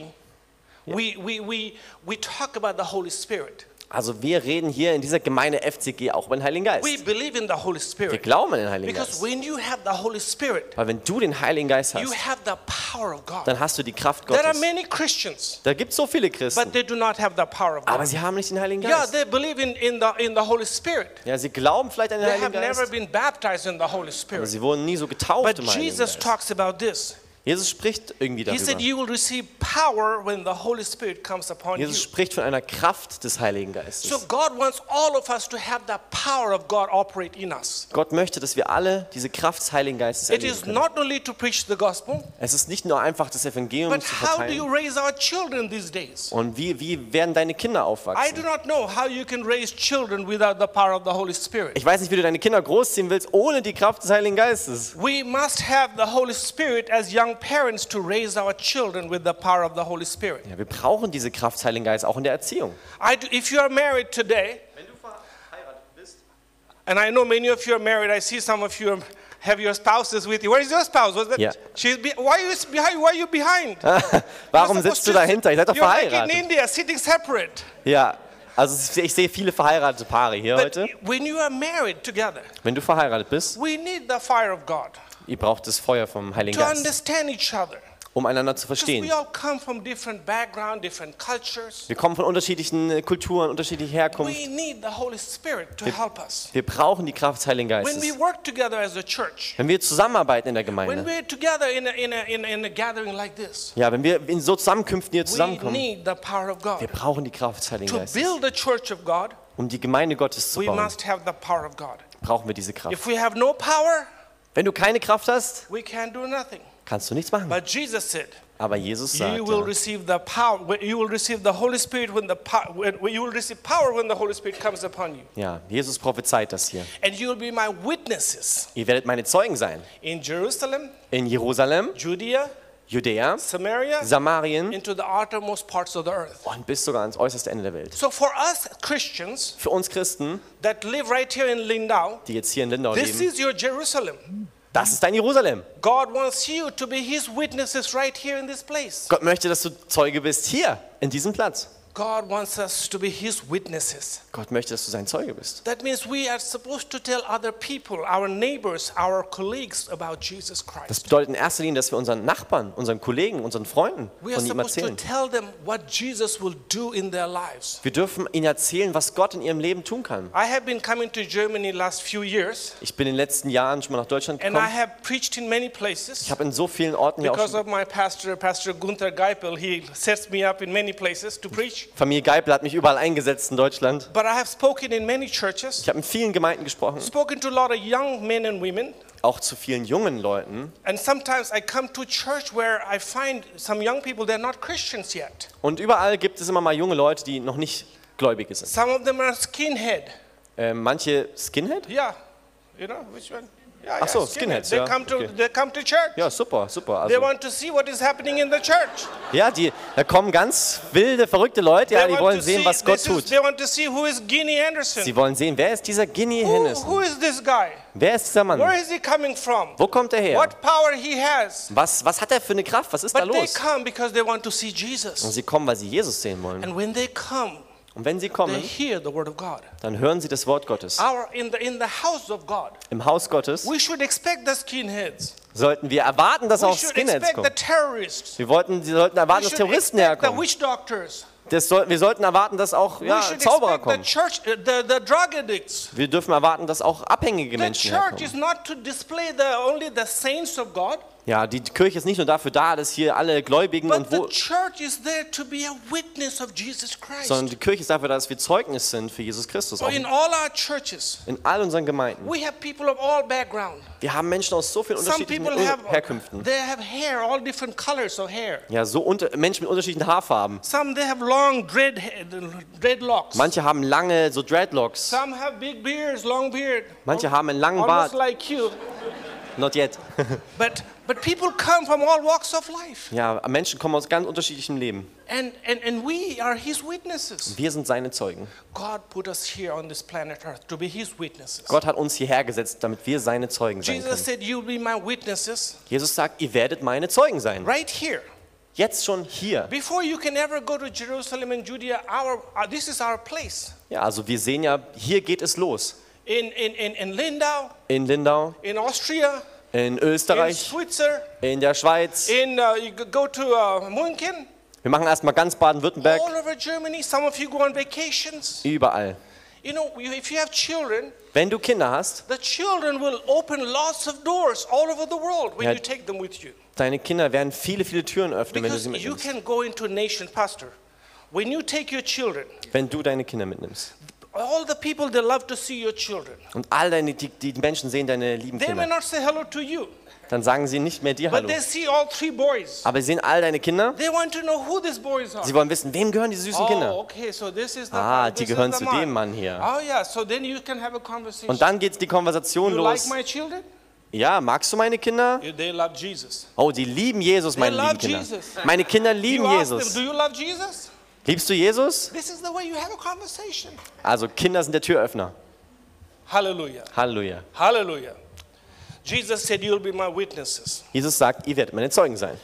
[SPEAKER 1] we, we, we, we talk about the Holy Spirit.
[SPEAKER 2] Also wir reden hier in dieser Gemeinde F C G auch über den Heiligen Geist.
[SPEAKER 1] We believe in the Holy
[SPEAKER 2] Wir
[SPEAKER 1] Spirit.
[SPEAKER 2] glauben an den Heiligen
[SPEAKER 1] Because
[SPEAKER 2] Geist.
[SPEAKER 1] when you have the Holy Spirit,
[SPEAKER 2] Weil wenn du den Heiligen Geist
[SPEAKER 1] you
[SPEAKER 2] hast,
[SPEAKER 1] have the power of God.
[SPEAKER 2] dann hast du die Kraft
[SPEAKER 1] There are
[SPEAKER 2] Gottes.
[SPEAKER 1] many Christians,
[SPEAKER 2] Da gibt es so viele
[SPEAKER 1] but
[SPEAKER 2] Christen,
[SPEAKER 1] they do not have the power of
[SPEAKER 2] aber
[SPEAKER 1] God.
[SPEAKER 2] sie haben nicht den Heiligen
[SPEAKER 1] Yeah,
[SPEAKER 2] Geist.
[SPEAKER 1] they believe in, in, the, in the Holy Spirit.
[SPEAKER 2] Ja, sie glauben vielleicht an den
[SPEAKER 1] They
[SPEAKER 2] Heiligen
[SPEAKER 1] have never
[SPEAKER 2] Geist,
[SPEAKER 1] been baptized in the Holy
[SPEAKER 2] aber
[SPEAKER 1] Spirit.
[SPEAKER 2] sie wurden nie so getauft
[SPEAKER 1] But
[SPEAKER 2] im Heiligen
[SPEAKER 1] Jesus
[SPEAKER 2] Geist.
[SPEAKER 1] talks about this.
[SPEAKER 2] Jesus spricht irgendwie
[SPEAKER 1] He said,
[SPEAKER 2] darüber.
[SPEAKER 1] you will receive power when the Holy Spirit comes upon you.
[SPEAKER 2] Jesus spricht von einer Kraft des Heiligen
[SPEAKER 1] So
[SPEAKER 2] Geistes.
[SPEAKER 1] God wants all of us to have the power of God operate in us.
[SPEAKER 2] Gott möchte, dass wir alle diese Kraft des Heiligen Geistes
[SPEAKER 1] It
[SPEAKER 2] erleben
[SPEAKER 1] is
[SPEAKER 2] können.
[SPEAKER 1] not only to preach the gospel,
[SPEAKER 2] Es ist nicht nur einfach das Evangelium
[SPEAKER 1] but
[SPEAKER 2] zu
[SPEAKER 1] how do you
[SPEAKER 2] verteilen.
[SPEAKER 1] raise our children these days?
[SPEAKER 2] Und wie, wie werden deine Kinder
[SPEAKER 1] I do
[SPEAKER 2] aufwachsen?
[SPEAKER 1] not know how you can raise children without the power of the Holy Spirit.
[SPEAKER 2] Ich weiß nicht, wie du deine Kinder großziehen willst, ohne die Kraft des Heiligen Geistes.
[SPEAKER 1] We must have the Holy Spirit as young parents to raise our children with the power of the Holy Spirit.
[SPEAKER 2] Ja, wir brauchen diese Kraft des Heiligen Geistes auch in der Erziehung.
[SPEAKER 1] I do, if you are married today,
[SPEAKER 2] Wenn du verheiratet bist,
[SPEAKER 1] and I know many of you are married, I see some of you have your spouses with you. Where is your spouse? Was that?
[SPEAKER 2] Yeah.
[SPEAKER 1] She's be, why are you behind? Why are you behind?
[SPEAKER 2] warum
[SPEAKER 1] You're
[SPEAKER 2] sitzt du
[SPEAKER 1] supposed to-
[SPEAKER 2] dahinter? Ihr seid doch
[SPEAKER 1] You're like in
[SPEAKER 2] verheiratet.
[SPEAKER 1] India, sitting separate.
[SPEAKER 2] Ja, also ich sehe viele verheiratete Paare hier
[SPEAKER 1] But
[SPEAKER 2] heute.
[SPEAKER 1] when you are married together,
[SPEAKER 2] Wenn du verheiratet bist,
[SPEAKER 1] we need the fire of God
[SPEAKER 2] ihr braucht das Feuer vom Heiligen
[SPEAKER 1] to
[SPEAKER 2] Geist,
[SPEAKER 1] understand each other.
[SPEAKER 2] um einander zu
[SPEAKER 1] Because
[SPEAKER 2] verstehen.
[SPEAKER 1] we all come from different background, different cultures.
[SPEAKER 2] Wir kommen von unterschiedlichen äh, Kulturen, unterschiedlicher Herkunft.
[SPEAKER 1] We need the Holy Spirit to help us.
[SPEAKER 2] Wir brauchen die Kraft des Heiligen
[SPEAKER 1] When we
[SPEAKER 2] Geistes.
[SPEAKER 1] work together as a church,
[SPEAKER 2] Wenn wir zusammenarbeiten in der
[SPEAKER 1] when
[SPEAKER 2] Gemeinde,
[SPEAKER 1] we're together in a, in a, in a, in a gathering like this,
[SPEAKER 2] ja, wenn wir in so Zusammenkünften hier
[SPEAKER 1] we
[SPEAKER 2] zusammenkommen,
[SPEAKER 1] need the power of
[SPEAKER 2] wir
[SPEAKER 1] God.
[SPEAKER 2] brauchen die Kraft des Heiligen
[SPEAKER 1] To
[SPEAKER 2] Geistes.
[SPEAKER 1] build the church of God,
[SPEAKER 2] Um die Gemeinde Gottes zu
[SPEAKER 1] we
[SPEAKER 2] bauen,
[SPEAKER 1] must have the power of God.
[SPEAKER 2] brauchen wir diese Kraft.
[SPEAKER 1] If we have no power,
[SPEAKER 2] Wenn du keine Kraft hast,
[SPEAKER 1] we can't do nothing.
[SPEAKER 2] kannst du nichts machen.
[SPEAKER 1] But Jesus said,
[SPEAKER 2] Aber Jesus sagt,
[SPEAKER 1] you will
[SPEAKER 2] ja,
[SPEAKER 1] receive the power. when- You will receive the Holy Spirit when the power. When, when you will receive power when the Holy Spirit comes upon you,
[SPEAKER 2] ja, Jesus prophezeit das hier.
[SPEAKER 1] and you will be my witnesses
[SPEAKER 2] Ihr werdet meine Zeugen sein.
[SPEAKER 1] in Jerusalem,
[SPEAKER 2] In Jerusalem,
[SPEAKER 1] Judea,
[SPEAKER 2] Judäa,
[SPEAKER 1] Samaria,
[SPEAKER 2] Samarien
[SPEAKER 1] into the uttermost parts of the earth.
[SPEAKER 2] und bis sogar ans äußerste Ende der Welt.
[SPEAKER 1] So for us Christians
[SPEAKER 2] Für uns Christen,
[SPEAKER 1] that live right here in Lindau,
[SPEAKER 2] die jetzt hier in Lindau
[SPEAKER 1] this
[SPEAKER 2] leben,
[SPEAKER 1] is your Jerusalem.
[SPEAKER 2] das ist dein Jerusalem.
[SPEAKER 1] God wants you to be His witnesses right here in this place.
[SPEAKER 2] Gott möchte, dass du Zeuge bist hier, in diesem Platz.
[SPEAKER 1] God wants us to be His witnesses.
[SPEAKER 2] Gott möchte, dass du sein Zeuge bist.
[SPEAKER 1] That means we are supposed to tell other people, our neighbors, our colleagues about Jesus
[SPEAKER 2] Das
[SPEAKER 1] Christ.
[SPEAKER 2] bedeutet in erster Linie, dass wir unseren Nachbarn, unseren Kollegen, unseren Freunden
[SPEAKER 1] We are
[SPEAKER 2] von ihm
[SPEAKER 1] supposed to
[SPEAKER 2] erzählen.
[SPEAKER 1] tell them what Jesus will do in their lives.
[SPEAKER 2] Wir dürfen ihnen erzählen, was Gott in ihrem Leben tun kann.
[SPEAKER 1] I have been coming to Germany last few years,
[SPEAKER 2] Ich bin in den letzten Jahren schon mal nach Deutschland
[SPEAKER 1] and I
[SPEAKER 2] gekommen.
[SPEAKER 1] have preached in many
[SPEAKER 2] Ich
[SPEAKER 1] places.
[SPEAKER 2] habe in so vielen Orten hier auch
[SPEAKER 1] Because
[SPEAKER 2] schon.
[SPEAKER 1] of my pastor, Pastor Gunther Geipel, he sets me up in many places to preach.
[SPEAKER 2] Familie Geipel hat mich überall eingesetzt in Deutschland.
[SPEAKER 1] But I have spoken in many churches,
[SPEAKER 2] Ich habe in vielen Gemeinden gesprochen,
[SPEAKER 1] spoken to a lot of young men and women.
[SPEAKER 2] auch zu vielen jungen Leuten.
[SPEAKER 1] And sometimes I come to church where I find some young people, they're not Christians yet.
[SPEAKER 2] Und überall gibt es immer mal junge Leute, die noch nicht Gläubige sind.
[SPEAKER 1] Some of them are skinhead.
[SPEAKER 2] Äh, manche Skinhead?
[SPEAKER 1] Yeah, you know which one? Yeah,
[SPEAKER 2] Ach so,
[SPEAKER 1] yeah,
[SPEAKER 2] skinheads,
[SPEAKER 1] They
[SPEAKER 2] ja,
[SPEAKER 1] come to
[SPEAKER 2] okay.
[SPEAKER 1] they come to church.
[SPEAKER 2] Ja, super, super.
[SPEAKER 1] They
[SPEAKER 2] Also,
[SPEAKER 1] want to see what is happening in the church.
[SPEAKER 2] ja, die, da kommen ganz wilde, verrückte Leute, ja,
[SPEAKER 1] They
[SPEAKER 2] die
[SPEAKER 1] want
[SPEAKER 2] wollen
[SPEAKER 1] to
[SPEAKER 2] sehen,
[SPEAKER 1] see-
[SPEAKER 2] was Gott
[SPEAKER 1] this is-
[SPEAKER 2] tut.
[SPEAKER 1] They want to see who is Guinea Anderson.
[SPEAKER 2] Sie wollen sehen, wer ist dieser Guinea
[SPEAKER 1] Who,
[SPEAKER 2] Henderson?
[SPEAKER 1] who is this guy?
[SPEAKER 2] Wer ist dieser
[SPEAKER 1] Where
[SPEAKER 2] Mann?
[SPEAKER 1] is he coming from?
[SPEAKER 2] Wo kommt er her?
[SPEAKER 1] What power he has?
[SPEAKER 2] Was, was hat er für eine Kraft? Was ist da
[SPEAKER 1] But they
[SPEAKER 2] los?
[SPEAKER 1] come because they want to see
[SPEAKER 2] Und
[SPEAKER 1] Jesus.
[SPEAKER 2] sie kommen, weil sie Jesus sehen wollen.
[SPEAKER 1] And when they come,
[SPEAKER 2] Und wenn sie
[SPEAKER 1] they
[SPEAKER 2] kommen,
[SPEAKER 1] hear the word of God.
[SPEAKER 2] dann hören sie das Wort Gottes.
[SPEAKER 1] Our in the in the house of God,
[SPEAKER 2] Im Haus Gottes
[SPEAKER 1] we should expect the skinheads.
[SPEAKER 2] sollten wir erwarten, dass
[SPEAKER 1] We
[SPEAKER 2] auch
[SPEAKER 1] should
[SPEAKER 2] Skinheads
[SPEAKER 1] expect the
[SPEAKER 2] kommen.
[SPEAKER 1] terrorists.
[SPEAKER 2] Wir, wollten, wir sollten erwarten,
[SPEAKER 1] We
[SPEAKER 2] dass
[SPEAKER 1] should
[SPEAKER 2] Terroristen
[SPEAKER 1] expect the
[SPEAKER 2] herkommen.
[SPEAKER 1] witch doctors.
[SPEAKER 2] Das soll, wir sollten erwarten, dass auch
[SPEAKER 1] We
[SPEAKER 2] ja,
[SPEAKER 1] should
[SPEAKER 2] Zauberer
[SPEAKER 1] expect the
[SPEAKER 2] kommen.
[SPEAKER 1] church, uh, the, the drug addicts.
[SPEAKER 2] Wir dürfen erwarten, dass auch abhängige
[SPEAKER 1] The
[SPEAKER 2] Menschen
[SPEAKER 1] church is
[SPEAKER 2] herkommen.
[SPEAKER 1] not to display the only the saints of God,
[SPEAKER 2] Ja, die Kirche ist nicht nur dafür da, dass hier alle Gläubigen
[SPEAKER 1] but
[SPEAKER 2] und
[SPEAKER 1] the
[SPEAKER 2] wo,
[SPEAKER 1] church is there to be a witness of Jesus Christ.
[SPEAKER 2] sondern die Kirche ist dafür da, dass wir Zeugnis sind für Jesus Christus.
[SPEAKER 1] So
[SPEAKER 2] Auch
[SPEAKER 1] in all our churches,
[SPEAKER 2] in all unseren Gemeinden.
[SPEAKER 1] we have people of all background.
[SPEAKER 2] Wir haben Menschen aus so vielen
[SPEAKER 1] Some
[SPEAKER 2] unterschiedlichen
[SPEAKER 1] people have
[SPEAKER 2] Herkünften.
[SPEAKER 1] they have hair, all different colors of hair.
[SPEAKER 2] Ja, so unter, Menschen mit unterschiedlichen Haarfarben.
[SPEAKER 1] Some they have long dread dreadlocks.
[SPEAKER 2] Manche haben lange so Dreadlocks.
[SPEAKER 1] Some have big beards, long beard.
[SPEAKER 2] Manche haben einen langen
[SPEAKER 1] Almost
[SPEAKER 2] Bart.
[SPEAKER 1] like you.
[SPEAKER 2] Not yet.
[SPEAKER 1] But but people come from all walks of life.
[SPEAKER 2] Ja, Menschen kommen aus ganz unterschiedlichem Leben.
[SPEAKER 1] And and and we are his witnesses.
[SPEAKER 2] Wir sind seine Zeugen.
[SPEAKER 1] God put us here on this planet Earth to be his witnesses.
[SPEAKER 2] Gott hat uns hierher gesetzt, damit wir seine Zeugen sein
[SPEAKER 1] Jesus
[SPEAKER 2] können.
[SPEAKER 1] said, "You'll be my witnesses
[SPEAKER 2] Jesus sagt, ihr werdet meine Zeugen sein.
[SPEAKER 1] right here."
[SPEAKER 2] Jetzt schon hier.
[SPEAKER 1] Before you can ever go to Jerusalem and Judea, our uh, this is our place.
[SPEAKER 2] Ja, also wir sehen ja, hier geht es los.
[SPEAKER 1] In in in, in Lindau,
[SPEAKER 2] In Lindau,
[SPEAKER 1] in Austria,
[SPEAKER 2] in
[SPEAKER 1] in
[SPEAKER 2] Österreich,
[SPEAKER 1] Switzerland,
[SPEAKER 2] in der Schweiz.
[SPEAKER 1] in uh, you go to uh, München,
[SPEAKER 2] Wir machen erstmal ganz Baden-Württemberg,
[SPEAKER 1] all over Germany. Some of you go on vacations.
[SPEAKER 2] überall.
[SPEAKER 1] You know, you- if you have children,
[SPEAKER 2] Wenn du Kinder hast,
[SPEAKER 1] the children will open lots of doors all over the world when
[SPEAKER 2] Ja.
[SPEAKER 1] you take them with you.
[SPEAKER 2] deine Kinder werden viele, viele Türen öffnen, wenn du
[SPEAKER 1] Because
[SPEAKER 2] sie
[SPEAKER 1] you
[SPEAKER 2] mitnimmst.
[SPEAKER 1] can go into a nation, Pastor. When you take your children,
[SPEAKER 2] Wenn du deine Kinder mitnimmst.
[SPEAKER 1] all the people, they love to see your children.
[SPEAKER 2] Und all deine, die, die Menschen sehen deine lieben
[SPEAKER 1] They may
[SPEAKER 2] Kinder.
[SPEAKER 1] not say hello to you,
[SPEAKER 2] Dann sagen sie nicht mehr dir
[SPEAKER 1] but
[SPEAKER 2] Hallo.
[SPEAKER 1] they see all three boys.
[SPEAKER 2] Aber sie sehen all deine Kinder.
[SPEAKER 1] They want to know who these boys are.
[SPEAKER 2] Sie wollen wissen, wem gehören die süßen
[SPEAKER 1] Oh,
[SPEAKER 2] Kinder.
[SPEAKER 1] okay, so this is the
[SPEAKER 2] Ah,
[SPEAKER 1] this
[SPEAKER 2] die
[SPEAKER 1] is
[SPEAKER 2] gehören
[SPEAKER 1] the
[SPEAKER 2] zu
[SPEAKER 1] man.
[SPEAKER 2] dem Mann hier.
[SPEAKER 1] Oh yeah, so then you can have a conversation.
[SPEAKER 2] Und dann geht die Konversation
[SPEAKER 1] You like
[SPEAKER 2] los.
[SPEAKER 1] my children?
[SPEAKER 2] Ja, magst du meine Kinder?
[SPEAKER 1] They love Jesus.
[SPEAKER 2] Oh, die lieben Jesus, meine
[SPEAKER 1] love
[SPEAKER 2] lieben Kinder.
[SPEAKER 1] Jesus.
[SPEAKER 2] Meine Kinder
[SPEAKER 1] You
[SPEAKER 2] lieben
[SPEAKER 1] ask them,
[SPEAKER 2] Jesus.
[SPEAKER 1] do you love Jesus?
[SPEAKER 2] Liebst du Jesus?
[SPEAKER 1] This is the way you have a conversation.
[SPEAKER 2] Also Kinder sind der Türöffner.
[SPEAKER 1] Hallelujah.
[SPEAKER 2] Halleluja.
[SPEAKER 1] Hallelujah. Jesus said, you'll be my witnesses.
[SPEAKER 2] Jesus sagt, ihr werdet meine Zeugen sein.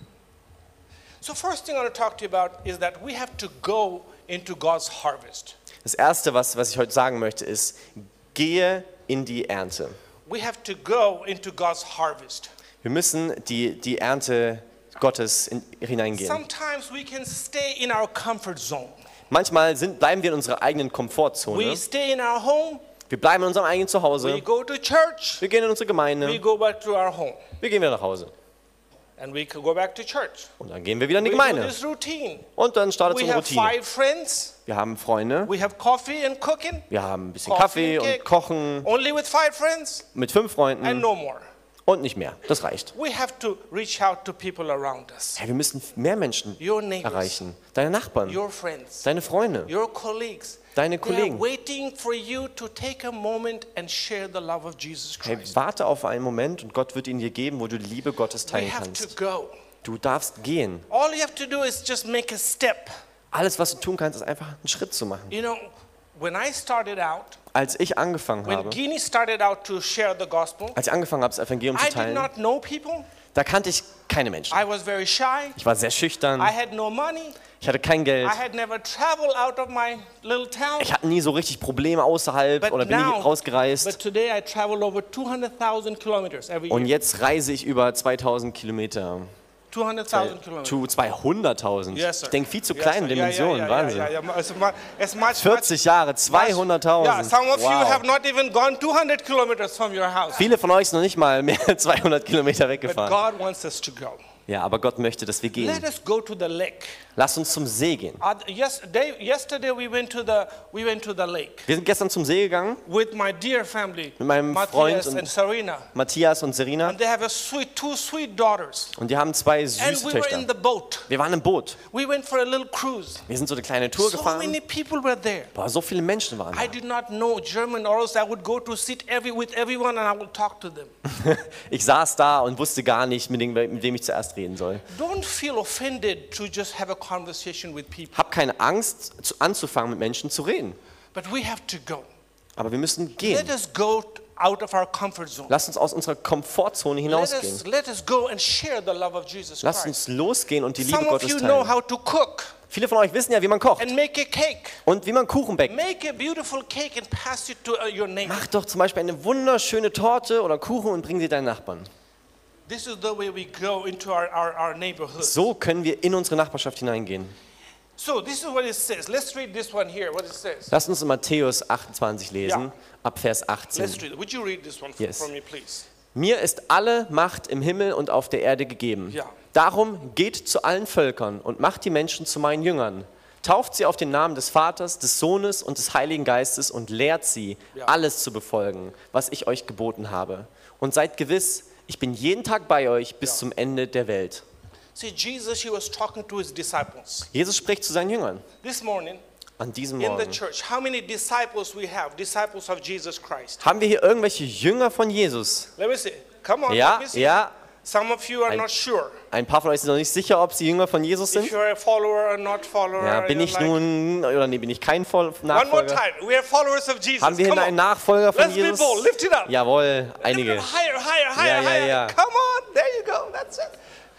[SPEAKER 1] So first thing I want to talk to you about is that we have to go into God's harvest.
[SPEAKER 2] Das Erste, was, was ich heute sagen möchte, ist, gehe in die Ernte.
[SPEAKER 1] We have to go into God's harvest.
[SPEAKER 2] Wir müssen die, die Ernte Gottes in, hineingehen.
[SPEAKER 1] Sometimes we can stay in our comfort zone.
[SPEAKER 2] Manchmal sind, bleiben wir in unserer eigenen Komfortzone.
[SPEAKER 1] We stay in our home,
[SPEAKER 2] Wir bleiben in unserem eigenen
[SPEAKER 1] we
[SPEAKER 2] Zuhause.
[SPEAKER 1] go to church,
[SPEAKER 2] Wir gehen in unsere
[SPEAKER 1] we
[SPEAKER 2] Gemeinde.
[SPEAKER 1] go back to our home,
[SPEAKER 2] Wir gehen wieder nach Hause.
[SPEAKER 1] and we can go back to church.
[SPEAKER 2] Und dann gehen wir wieder in die
[SPEAKER 1] We do
[SPEAKER 2] Gemeinde.
[SPEAKER 1] this routine.
[SPEAKER 2] Und dann startet so
[SPEAKER 1] We
[SPEAKER 2] eine
[SPEAKER 1] have
[SPEAKER 2] Routine.
[SPEAKER 1] five friends,
[SPEAKER 2] Wir haben Freunde.
[SPEAKER 1] we have coffee and cooking,
[SPEAKER 2] Wir haben ein bisschen
[SPEAKER 1] Coffee
[SPEAKER 2] Kaffee
[SPEAKER 1] and cake.
[SPEAKER 2] und Kochen
[SPEAKER 1] only with five friends,
[SPEAKER 2] mit fünf
[SPEAKER 1] and
[SPEAKER 2] Freunden
[SPEAKER 1] no more.
[SPEAKER 2] und nicht mehr. Das reicht.
[SPEAKER 1] We have to reach out to people around us,
[SPEAKER 2] Hey, wir müssen mehr Menschen
[SPEAKER 1] your neighbors,
[SPEAKER 2] erreichen. Deine Nachbarn,
[SPEAKER 1] your friends,
[SPEAKER 2] deine Freunde,
[SPEAKER 1] your colleagues.
[SPEAKER 2] deine
[SPEAKER 1] They are
[SPEAKER 2] Kollegen.
[SPEAKER 1] waiting for you to take a moment and share the love of Jesus
[SPEAKER 2] Hey,
[SPEAKER 1] Christ.
[SPEAKER 2] warte auf einen Moment und Gott wird ihn dir geben, wo du die Liebe Gottes
[SPEAKER 1] We
[SPEAKER 2] teilen
[SPEAKER 1] have to
[SPEAKER 2] kannst.
[SPEAKER 1] go.
[SPEAKER 2] Du darfst gehen.
[SPEAKER 1] All you have to do is just make a step.
[SPEAKER 2] Alles, was du tun kannst, ist einfach einen Schritt zu machen.
[SPEAKER 1] You know, when I started out,
[SPEAKER 2] Als ich angefangen
[SPEAKER 1] when
[SPEAKER 2] habe,
[SPEAKER 1] Guinea started out to share the gospel,
[SPEAKER 2] als ich angefangen habe, das Evangelium
[SPEAKER 1] I
[SPEAKER 2] zu
[SPEAKER 1] did
[SPEAKER 2] teilen,
[SPEAKER 1] not know people.
[SPEAKER 2] da kannte ich keine Menschen.
[SPEAKER 1] I was very shy.
[SPEAKER 2] Ich war sehr
[SPEAKER 1] I
[SPEAKER 2] schüchtern.
[SPEAKER 1] had no money.
[SPEAKER 2] Ich hatte kein Geld.
[SPEAKER 1] I had never traveled out of my little town.
[SPEAKER 2] Ich hatte nie so richtig Probleme außerhalb
[SPEAKER 1] But
[SPEAKER 2] oder bin nie
[SPEAKER 1] now,
[SPEAKER 2] rausgereist.
[SPEAKER 1] but today I travel over two hundred thousand kilometers every
[SPEAKER 2] Und
[SPEAKER 1] year.
[SPEAKER 2] jetzt reise ich über zweitausend Kilometer.
[SPEAKER 1] two hundred thousand kilometers.
[SPEAKER 2] Zu zweihunderttausend.
[SPEAKER 1] Yes, sir.
[SPEAKER 2] Ich denke viel zu
[SPEAKER 1] Yes,
[SPEAKER 2] kleinen
[SPEAKER 1] sir. Yeah,
[SPEAKER 2] Dimensionen.
[SPEAKER 1] yeah, yeah,
[SPEAKER 2] Wahnsinn.
[SPEAKER 1] yeah, yeah, yeah. It's mu- it's much,
[SPEAKER 2] vierzig Jahre,
[SPEAKER 1] much-
[SPEAKER 2] zweihunderttausend.
[SPEAKER 1] Yeah, some of you
[SPEAKER 2] Wow.
[SPEAKER 1] have not even gone two hundred kilometers from your house.
[SPEAKER 2] Viele von euch sind noch nicht mal mehr zweihundert Kilometer
[SPEAKER 1] But
[SPEAKER 2] weggefahren.
[SPEAKER 1] God wants us to go.
[SPEAKER 2] Ja, aber Gott möchte, dass wir
[SPEAKER 1] Let
[SPEAKER 2] gehen.
[SPEAKER 1] us go to the lake.
[SPEAKER 2] Lass uns zum See gehen.
[SPEAKER 1] Uh, yesterday, yesterday we went to the we went to the lake
[SPEAKER 2] Wir sind gestern zum See gegangen,
[SPEAKER 1] with my dear family,
[SPEAKER 2] Mit meinem Freund
[SPEAKER 1] Matthias
[SPEAKER 2] und-
[SPEAKER 1] and Serena,
[SPEAKER 2] Matthias und Serina.
[SPEAKER 1] and they have a sweet two sweet daughters.
[SPEAKER 2] Und die haben zwei
[SPEAKER 1] And
[SPEAKER 2] süße
[SPEAKER 1] we were in
[SPEAKER 2] Töchter.
[SPEAKER 1] the boat.
[SPEAKER 2] Wir waren im Boot.
[SPEAKER 1] We went for a little cruise.
[SPEAKER 2] Wir sind so eine kleine Tour
[SPEAKER 1] So
[SPEAKER 2] gefahren.
[SPEAKER 1] many people were there.
[SPEAKER 2] Boah, so viele Menschen waren
[SPEAKER 1] I
[SPEAKER 2] da.
[SPEAKER 1] did not know German, or else I would go to sit every with everyone and I would talk to them.
[SPEAKER 2] Ich saß da und wusste gar nicht, mit dem, mit wem ich zuerst reden soll.
[SPEAKER 1] Don't feel offended to just have a conversation with people,
[SPEAKER 2] Hab keine Angst, zu, anzufangen, mit Menschen zu reden.
[SPEAKER 1] but we have to go.
[SPEAKER 2] Aber wir müssen
[SPEAKER 1] Let
[SPEAKER 2] gehen.
[SPEAKER 1] us go out of our comfort zone.
[SPEAKER 2] Lass uns aus unserer Komfortzone
[SPEAKER 1] Let
[SPEAKER 2] hinausgehen.
[SPEAKER 1] us, let us go and share the love of Jesus
[SPEAKER 2] Lasst
[SPEAKER 1] Christ.
[SPEAKER 2] uns losgehen und die Liebe
[SPEAKER 1] Some of
[SPEAKER 2] Gottes
[SPEAKER 1] you know
[SPEAKER 2] teilen.
[SPEAKER 1] how to cook
[SPEAKER 2] Viele von euch wissen ja, wie man kocht
[SPEAKER 1] and make a cake.
[SPEAKER 2] und wie man Kuchen backt.
[SPEAKER 1] Make a beautiful cake and pass it to uh, your neighbor.
[SPEAKER 2] Mach doch zum Beispiel eine wunderschöne Torte oder Kuchen und bring sie deinen Nachbarn.
[SPEAKER 1] This is the way we go into our, our, our neighborhood.
[SPEAKER 2] So können wir in unsere Nachbarschaft hineingehen.
[SPEAKER 1] So this is what it says. Let's read this one here, what it says.
[SPEAKER 2] Lasst uns in Matthäus achtundzwanzig lesen,
[SPEAKER 1] Ja.
[SPEAKER 2] ab Vers
[SPEAKER 1] Let's
[SPEAKER 2] achtzehn.
[SPEAKER 1] read it. Would you read this one f-
[SPEAKER 2] Yes.
[SPEAKER 1] for me, please?
[SPEAKER 2] Mir ist alle Macht im Himmel und auf der Erde gegeben.
[SPEAKER 1] Ja.
[SPEAKER 2] Darum geht zu allen Völkern und macht die Menschen zu meinen Jüngern. Tauft sie auf den Namen des Vaters, des Sohnes und des Heiligen Geistes und lehrt sie,
[SPEAKER 1] Ja.
[SPEAKER 2] alles zu befolgen, was ich euch geboten habe. Und seid gewiss, ich bin jeden Tag bei euch bis
[SPEAKER 1] Ja.
[SPEAKER 2] zum Ende der Welt.
[SPEAKER 1] See, Jesus, he was talking to his disciples.
[SPEAKER 2] Jesus spricht zu seinen Jüngern
[SPEAKER 1] This morning,
[SPEAKER 2] an diesem
[SPEAKER 1] in the
[SPEAKER 2] Morgen.
[SPEAKER 1] church, how many disciples we have? Disciples of Jesus Christ.
[SPEAKER 2] Haben wir hier irgendwelche Jünger von Jesus?
[SPEAKER 1] Let me see. Come on,
[SPEAKER 2] Ja,
[SPEAKER 1] let me see.
[SPEAKER 2] ja.
[SPEAKER 1] Some of you are
[SPEAKER 2] Ein-
[SPEAKER 1] not sure
[SPEAKER 2] Ein paar von euch sind noch nicht sicher, ob sie Jünger von Jesus
[SPEAKER 1] if
[SPEAKER 2] sind.
[SPEAKER 1] you're a follower or not follower.
[SPEAKER 2] Ja, bin
[SPEAKER 1] You're
[SPEAKER 2] ich
[SPEAKER 1] like-
[SPEAKER 2] nun, oder nee, bin ich kein Voll-
[SPEAKER 1] One more
[SPEAKER 2] Nachfolger?
[SPEAKER 1] time. We are followers of Jesus.
[SPEAKER 2] Haben wir hier
[SPEAKER 1] Come
[SPEAKER 2] einen
[SPEAKER 1] on.
[SPEAKER 2] Nachfolger von
[SPEAKER 1] Let's be
[SPEAKER 2] Jesus?
[SPEAKER 1] bold. Lift it up.
[SPEAKER 2] Jawohl,
[SPEAKER 1] Lift it
[SPEAKER 2] einige.
[SPEAKER 1] up higher, higher, higher,
[SPEAKER 2] Ja, ja,
[SPEAKER 1] higher.
[SPEAKER 2] ja.
[SPEAKER 1] Come on. There you go. That's it.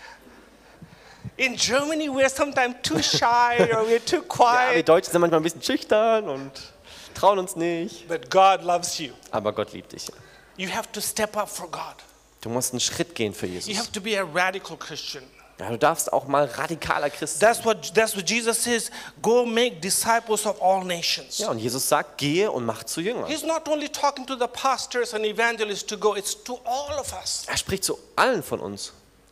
[SPEAKER 1] In Germany, we're sometimes too shy or we're too
[SPEAKER 2] Ja, wir
[SPEAKER 1] quiet.
[SPEAKER 2] Deutschen sind manchmal ein bisschen schüchtern und trauen uns nicht.
[SPEAKER 1] But God loves you.
[SPEAKER 2] Aber Gott liebt dich.
[SPEAKER 1] You have to step up for God.
[SPEAKER 2] Du musst einen Schritt gehen für
[SPEAKER 1] You
[SPEAKER 2] Jesus.
[SPEAKER 1] have to be a radical Christian.
[SPEAKER 2] Ja, du darfst auch mal radikaler Christ sein.
[SPEAKER 1] That's what, that's what Jesus says. Go make disciples of all nations.
[SPEAKER 2] Ja, und Jesus sagt, gehe und mach zu Jüngern.
[SPEAKER 1] He's not only talking to the pastors and evangelists to go, it's to all of us.
[SPEAKER 2] Er spricht zu allen von uns.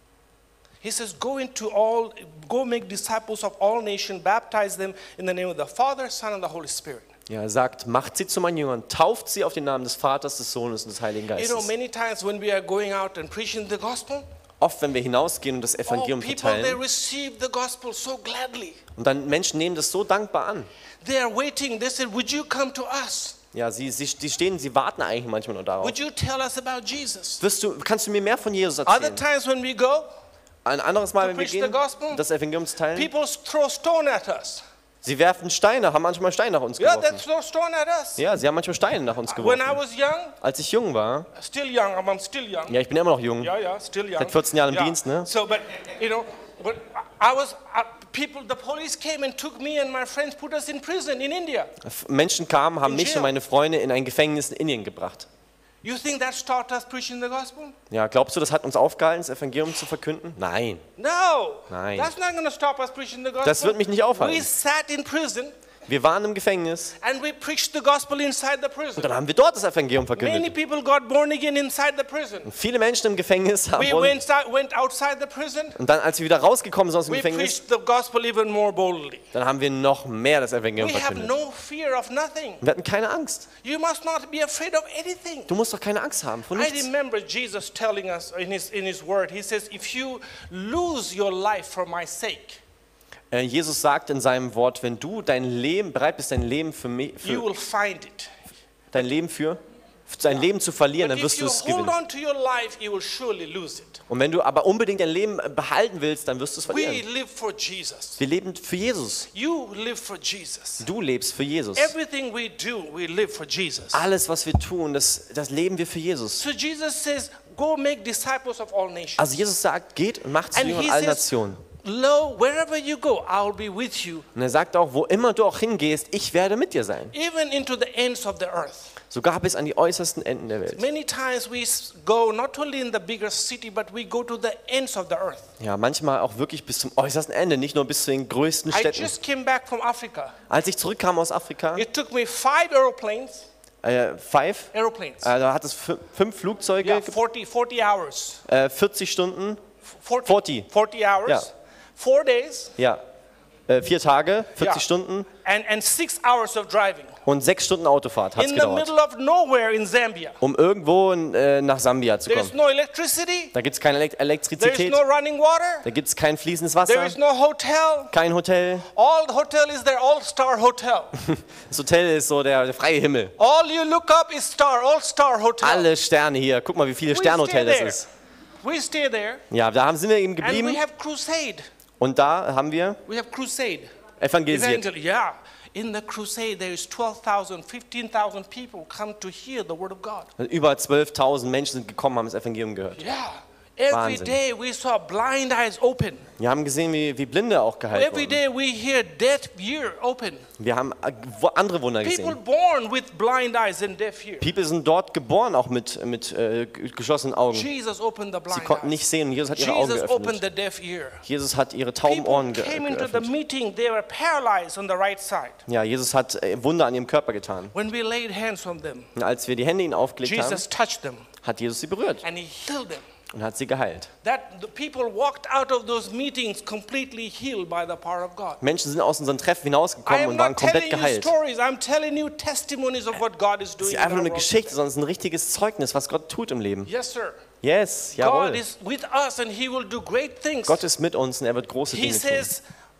[SPEAKER 1] He says, go into all, go make disciples of all nations, baptize them in the name of the Father, Son, and the Holy Spirit.
[SPEAKER 2] Ja, er sagt, macht sie zu meinen Jüngern, tauft sie auf den Namen des Vaters, des Sohnes und des Heiligen
[SPEAKER 1] You know,
[SPEAKER 2] Geistes.
[SPEAKER 1] many times when we are going out and preaching the gospel,
[SPEAKER 2] Oft, wenn wir hinausgehen und das
[SPEAKER 1] oh,
[SPEAKER 2] Evangelium
[SPEAKER 1] people, they
[SPEAKER 2] verteilen,
[SPEAKER 1] receive the gospel so gladly.
[SPEAKER 2] und dann Menschen nehmen das so dankbar an.
[SPEAKER 1] They are waiting. They said, would you come to us?
[SPEAKER 2] Ja, sie, sie, die stehen, sie warten eigentlich manchmal nur darauf.
[SPEAKER 1] Would you tell us about Jesus?
[SPEAKER 2] Wirst du, kannst du mir mehr von Jesus
[SPEAKER 1] Other
[SPEAKER 2] erzählen?
[SPEAKER 1] times when we go,
[SPEAKER 2] Ein anderes Mal,
[SPEAKER 1] to
[SPEAKER 2] wenn wir
[SPEAKER 1] preach the
[SPEAKER 2] gehen,
[SPEAKER 1] gospel,
[SPEAKER 2] das Evangelium zu teilen,
[SPEAKER 1] people throw stone at us.
[SPEAKER 2] sie werfen Steine, haben manchmal Steine nach uns
[SPEAKER 1] Yeah, they
[SPEAKER 2] geworfen.
[SPEAKER 1] throw stone at us.
[SPEAKER 2] Ja, sie haben manchmal Steine nach uns
[SPEAKER 1] When I
[SPEAKER 2] geworfen.
[SPEAKER 1] was young,
[SPEAKER 2] Als ich jung war,
[SPEAKER 1] still young, I'm, I'm still young.
[SPEAKER 2] ja, ich bin immer noch jung,
[SPEAKER 1] Yeah, yeah, still young.
[SPEAKER 2] Seit vierzehn Jahren im
[SPEAKER 1] Yeah.
[SPEAKER 2] Dienst, ne?
[SPEAKER 1] So, but you know, but I was uh, people. The police came and took me and my friends, put us in prison in India.
[SPEAKER 2] Menschen kamen, haben
[SPEAKER 1] In
[SPEAKER 2] mich
[SPEAKER 1] jail.
[SPEAKER 2] und meine Freunde in ein Gefängnis in Indien gebracht.
[SPEAKER 1] You think that stopped us preaching the gospel?
[SPEAKER 2] Ja, glaubst du, das hat uns aufgehalten, das Evangelium zu verkünden? Nein.
[SPEAKER 1] No.
[SPEAKER 2] Nein.
[SPEAKER 1] That's not going to stop us preaching the gospel.
[SPEAKER 2] Das wird mich nicht aufhalten.
[SPEAKER 1] We sat in prison
[SPEAKER 2] Wir waren im Gefängnis
[SPEAKER 1] and we preached the gospel inside the prison.
[SPEAKER 2] und dann haben wir dort das Evangelium
[SPEAKER 1] Many
[SPEAKER 2] verkündet.
[SPEAKER 1] people got born again inside the prison.
[SPEAKER 2] Viele Menschen im Gefängnis haben
[SPEAKER 1] We
[SPEAKER 2] wohl-
[SPEAKER 1] went, out- went outside the prison.
[SPEAKER 2] und dann, als wir wieder rausgekommen sind aus dem
[SPEAKER 1] We
[SPEAKER 2] Gefängnis,
[SPEAKER 1] preached the gospel even more boldly.
[SPEAKER 2] dann haben wir noch mehr das Evangelium
[SPEAKER 1] We have
[SPEAKER 2] verkündet.
[SPEAKER 1] no fear of nothing.
[SPEAKER 2] Wir hatten keine Angst.
[SPEAKER 1] You must not be afraid of anything.
[SPEAKER 2] Du musst doch keine Angst haben von
[SPEAKER 1] I
[SPEAKER 2] nichts.
[SPEAKER 1] remember Jesus telling us in his, in his word, he says, if you lose your life for my sake,
[SPEAKER 2] Äh, Jesus sagt in seinem Wort, wenn du dein Leben bereit bist, dein Leben für mich,
[SPEAKER 1] you
[SPEAKER 2] für
[SPEAKER 1] will find it.
[SPEAKER 2] dein Leben für dein Leben zu verlieren,
[SPEAKER 1] But
[SPEAKER 2] dann
[SPEAKER 1] if
[SPEAKER 2] wirst du
[SPEAKER 1] you
[SPEAKER 2] es
[SPEAKER 1] hold
[SPEAKER 2] gewinnen.
[SPEAKER 1] on to your life, you will surely lose it.
[SPEAKER 2] Und wenn du aber unbedingt dein Leben behalten willst, dann wirst du es
[SPEAKER 1] We
[SPEAKER 2] verlieren.
[SPEAKER 1] live for Jesus.
[SPEAKER 2] Wir leben für Jesus.
[SPEAKER 1] You live for Jesus.
[SPEAKER 2] Du lebst für Jesus.
[SPEAKER 1] Everything we do, we live for Jesus.
[SPEAKER 2] Alles, was wir tun, das, das leben wir für Jesus.
[SPEAKER 1] So Jesus says, go make disciples of all nations.
[SPEAKER 2] Also Jesus sagt, geht und macht zu
[SPEAKER 1] And
[SPEAKER 2] Jüngern
[SPEAKER 1] he
[SPEAKER 2] allen
[SPEAKER 1] says,
[SPEAKER 2] Nationen.
[SPEAKER 1] lo, wherever you go, I'll be with you,
[SPEAKER 2] Und er sagt auch, wo immer du auch hingehst, ich werde mit dir sein.
[SPEAKER 1] even into the ends of the earth.
[SPEAKER 2] Sogar bis an die äußersten Enden der Welt.
[SPEAKER 1] Many times we s- go not only in the bigger city, but we go to the ends of the earth.
[SPEAKER 2] Ja, manchmal auch wirklich bis zum äußersten Ende, nicht nur bis zu den größten
[SPEAKER 1] I
[SPEAKER 2] Städten.
[SPEAKER 1] just came back from Africa.
[SPEAKER 2] Als ich zurückkam aus Afrika,
[SPEAKER 1] It took me five aeroplanes,
[SPEAKER 2] äh, five,
[SPEAKER 1] aeroplanes.
[SPEAKER 2] äh, da hat es fü- fünf Flugzeuge,
[SPEAKER 1] Yeah, forty, forty hours.
[SPEAKER 2] äh, vierzig Stunden,
[SPEAKER 1] forty,
[SPEAKER 2] forty.
[SPEAKER 1] forty hours.
[SPEAKER 2] Yeah.
[SPEAKER 1] Four days
[SPEAKER 2] ja, äh, vier Tage, vierzig
[SPEAKER 1] Ja.
[SPEAKER 2] Stunden
[SPEAKER 1] and, and six hours of driving.
[SPEAKER 2] und sechs Stunden Autofahrt hat es
[SPEAKER 1] In the
[SPEAKER 2] gedauert,
[SPEAKER 1] middle of nowhere in Zambia.
[SPEAKER 2] um irgendwo äh, nach Sambia zu
[SPEAKER 1] There is
[SPEAKER 2] kommen.
[SPEAKER 1] no electricity.
[SPEAKER 2] Da gibt es keine Elek-
[SPEAKER 1] There is
[SPEAKER 2] Elektrizität,
[SPEAKER 1] no running water.
[SPEAKER 2] da gibt es kein fließendes
[SPEAKER 1] There
[SPEAKER 2] Wasser,
[SPEAKER 1] is no hotel.
[SPEAKER 2] kein Hotel.
[SPEAKER 1] All the hotel is there, all-star hotel.
[SPEAKER 2] Das Hotel ist so der, der freie Himmel.
[SPEAKER 1] All you look up is star, all-star hotel.
[SPEAKER 2] Alle Sterne hier, guck mal, wie viele
[SPEAKER 1] We
[SPEAKER 2] Sternhotel
[SPEAKER 1] stay
[SPEAKER 2] das
[SPEAKER 1] there.
[SPEAKER 2] ist.
[SPEAKER 1] We stay there
[SPEAKER 2] Ja, da haben, sind wir eben
[SPEAKER 1] and
[SPEAKER 2] geblieben
[SPEAKER 1] we have crusade.
[SPEAKER 2] und da haben wir
[SPEAKER 1] We have crusade.
[SPEAKER 2] evangelisiert.
[SPEAKER 1] Evangel- yeah. In the crusade there is twelve thousand, fifteen thousand people come to hear the word of God.
[SPEAKER 2] Über zwölftausend Menschen sind gekommen, haben das Evangelium gehört.
[SPEAKER 1] Yeah. Every
[SPEAKER 2] Wahnsinn.
[SPEAKER 1] day we saw blind eyes open.
[SPEAKER 2] Wir haben gesehen, wie, wie Blinde auch geheilt
[SPEAKER 1] Every
[SPEAKER 2] wurden.
[SPEAKER 1] day we hear deaf ear open.
[SPEAKER 2] Wir haben äh, wo- andere Wunder
[SPEAKER 1] People
[SPEAKER 2] gesehen.
[SPEAKER 1] born with blind eyes and deaf ear.
[SPEAKER 2] People sind dort geboren, auch mit, mit äh, g- geschlossenen Augen.
[SPEAKER 1] Jesus opened the
[SPEAKER 2] Sie
[SPEAKER 1] blind
[SPEAKER 2] konnten
[SPEAKER 1] eyes.
[SPEAKER 2] nicht sehen und Jesus hat ihre Augen
[SPEAKER 1] Jesus opened
[SPEAKER 2] geöffnet.
[SPEAKER 1] the deaf ear.
[SPEAKER 2] Jesus hat ihre tauben Ohren
[SPEAKER 1] People
[SPEAKER 2] ge
[SPEAKER 1] came into the
[SPEAKER 2] geöffnet.
[SPEAKER 1] meeting, they were paralyzed on the right side.
[SPEAKER 2] Ja, Jesus hat äh, Wunder an ihrem Körper getan.
[SPEAKER 1] When we laid hands on them,
[SPEAKER 2] Und als wir die Hände ihnen aufgelegt haben,
[SPEAKER 1] Jesus touched them
[SPEAKER 2] hat Jesus sie berührt
[SPEAKER 1] and he healed them.
[SPEAKER 2] und hat sie geheilt.
[SPEAKER 1] That the people walked out of those meetings completely healed by the power of God.
[SPEAKER 2] Menschen sind aus unseren Treffen
[SPEAKER 1] I
[SPEAKER 2] hinausgekommen
[SPEAKER 1] am
[SPEAKER 2] und waren
[SPEAKER 1] not
[SPEAKER 2] komplett
[SPEAKER 1] telling you
[SPEAKER 2] geheilt.
[SPEAKER 1] stories, I'm telling you testimonies of what God is
[SPEAKER 2] Es
[SPEAKER 1] doing.
[SPEAKER 2] ist
[SPEAKER 1] in
[SPEAKER 2] einfach nur
[SPEAKER 1] our
[SPEAKER 2] eine
[SPEAKER 1] world
[SPEAKER 2] Geschichte,
[SPEAKER 1] today.
[SPEAKER 2] sondern es ist ein richtiges Zeugnis, was Gott tut im Leben.
[SPEAKER 1] Yes, sir.
[SPEAKER 2] Yes,
[SPEAKER 1] God
[SPEAKER 2] jawohl.
[SPEAKER 1] is with us and he will do great things.
[SPEAKER 2] Gott ist mit uns und er wird große
[SPEAKER 1] He
[SPEAKER 2] Dinge tun.
[SPEAKER 1] says,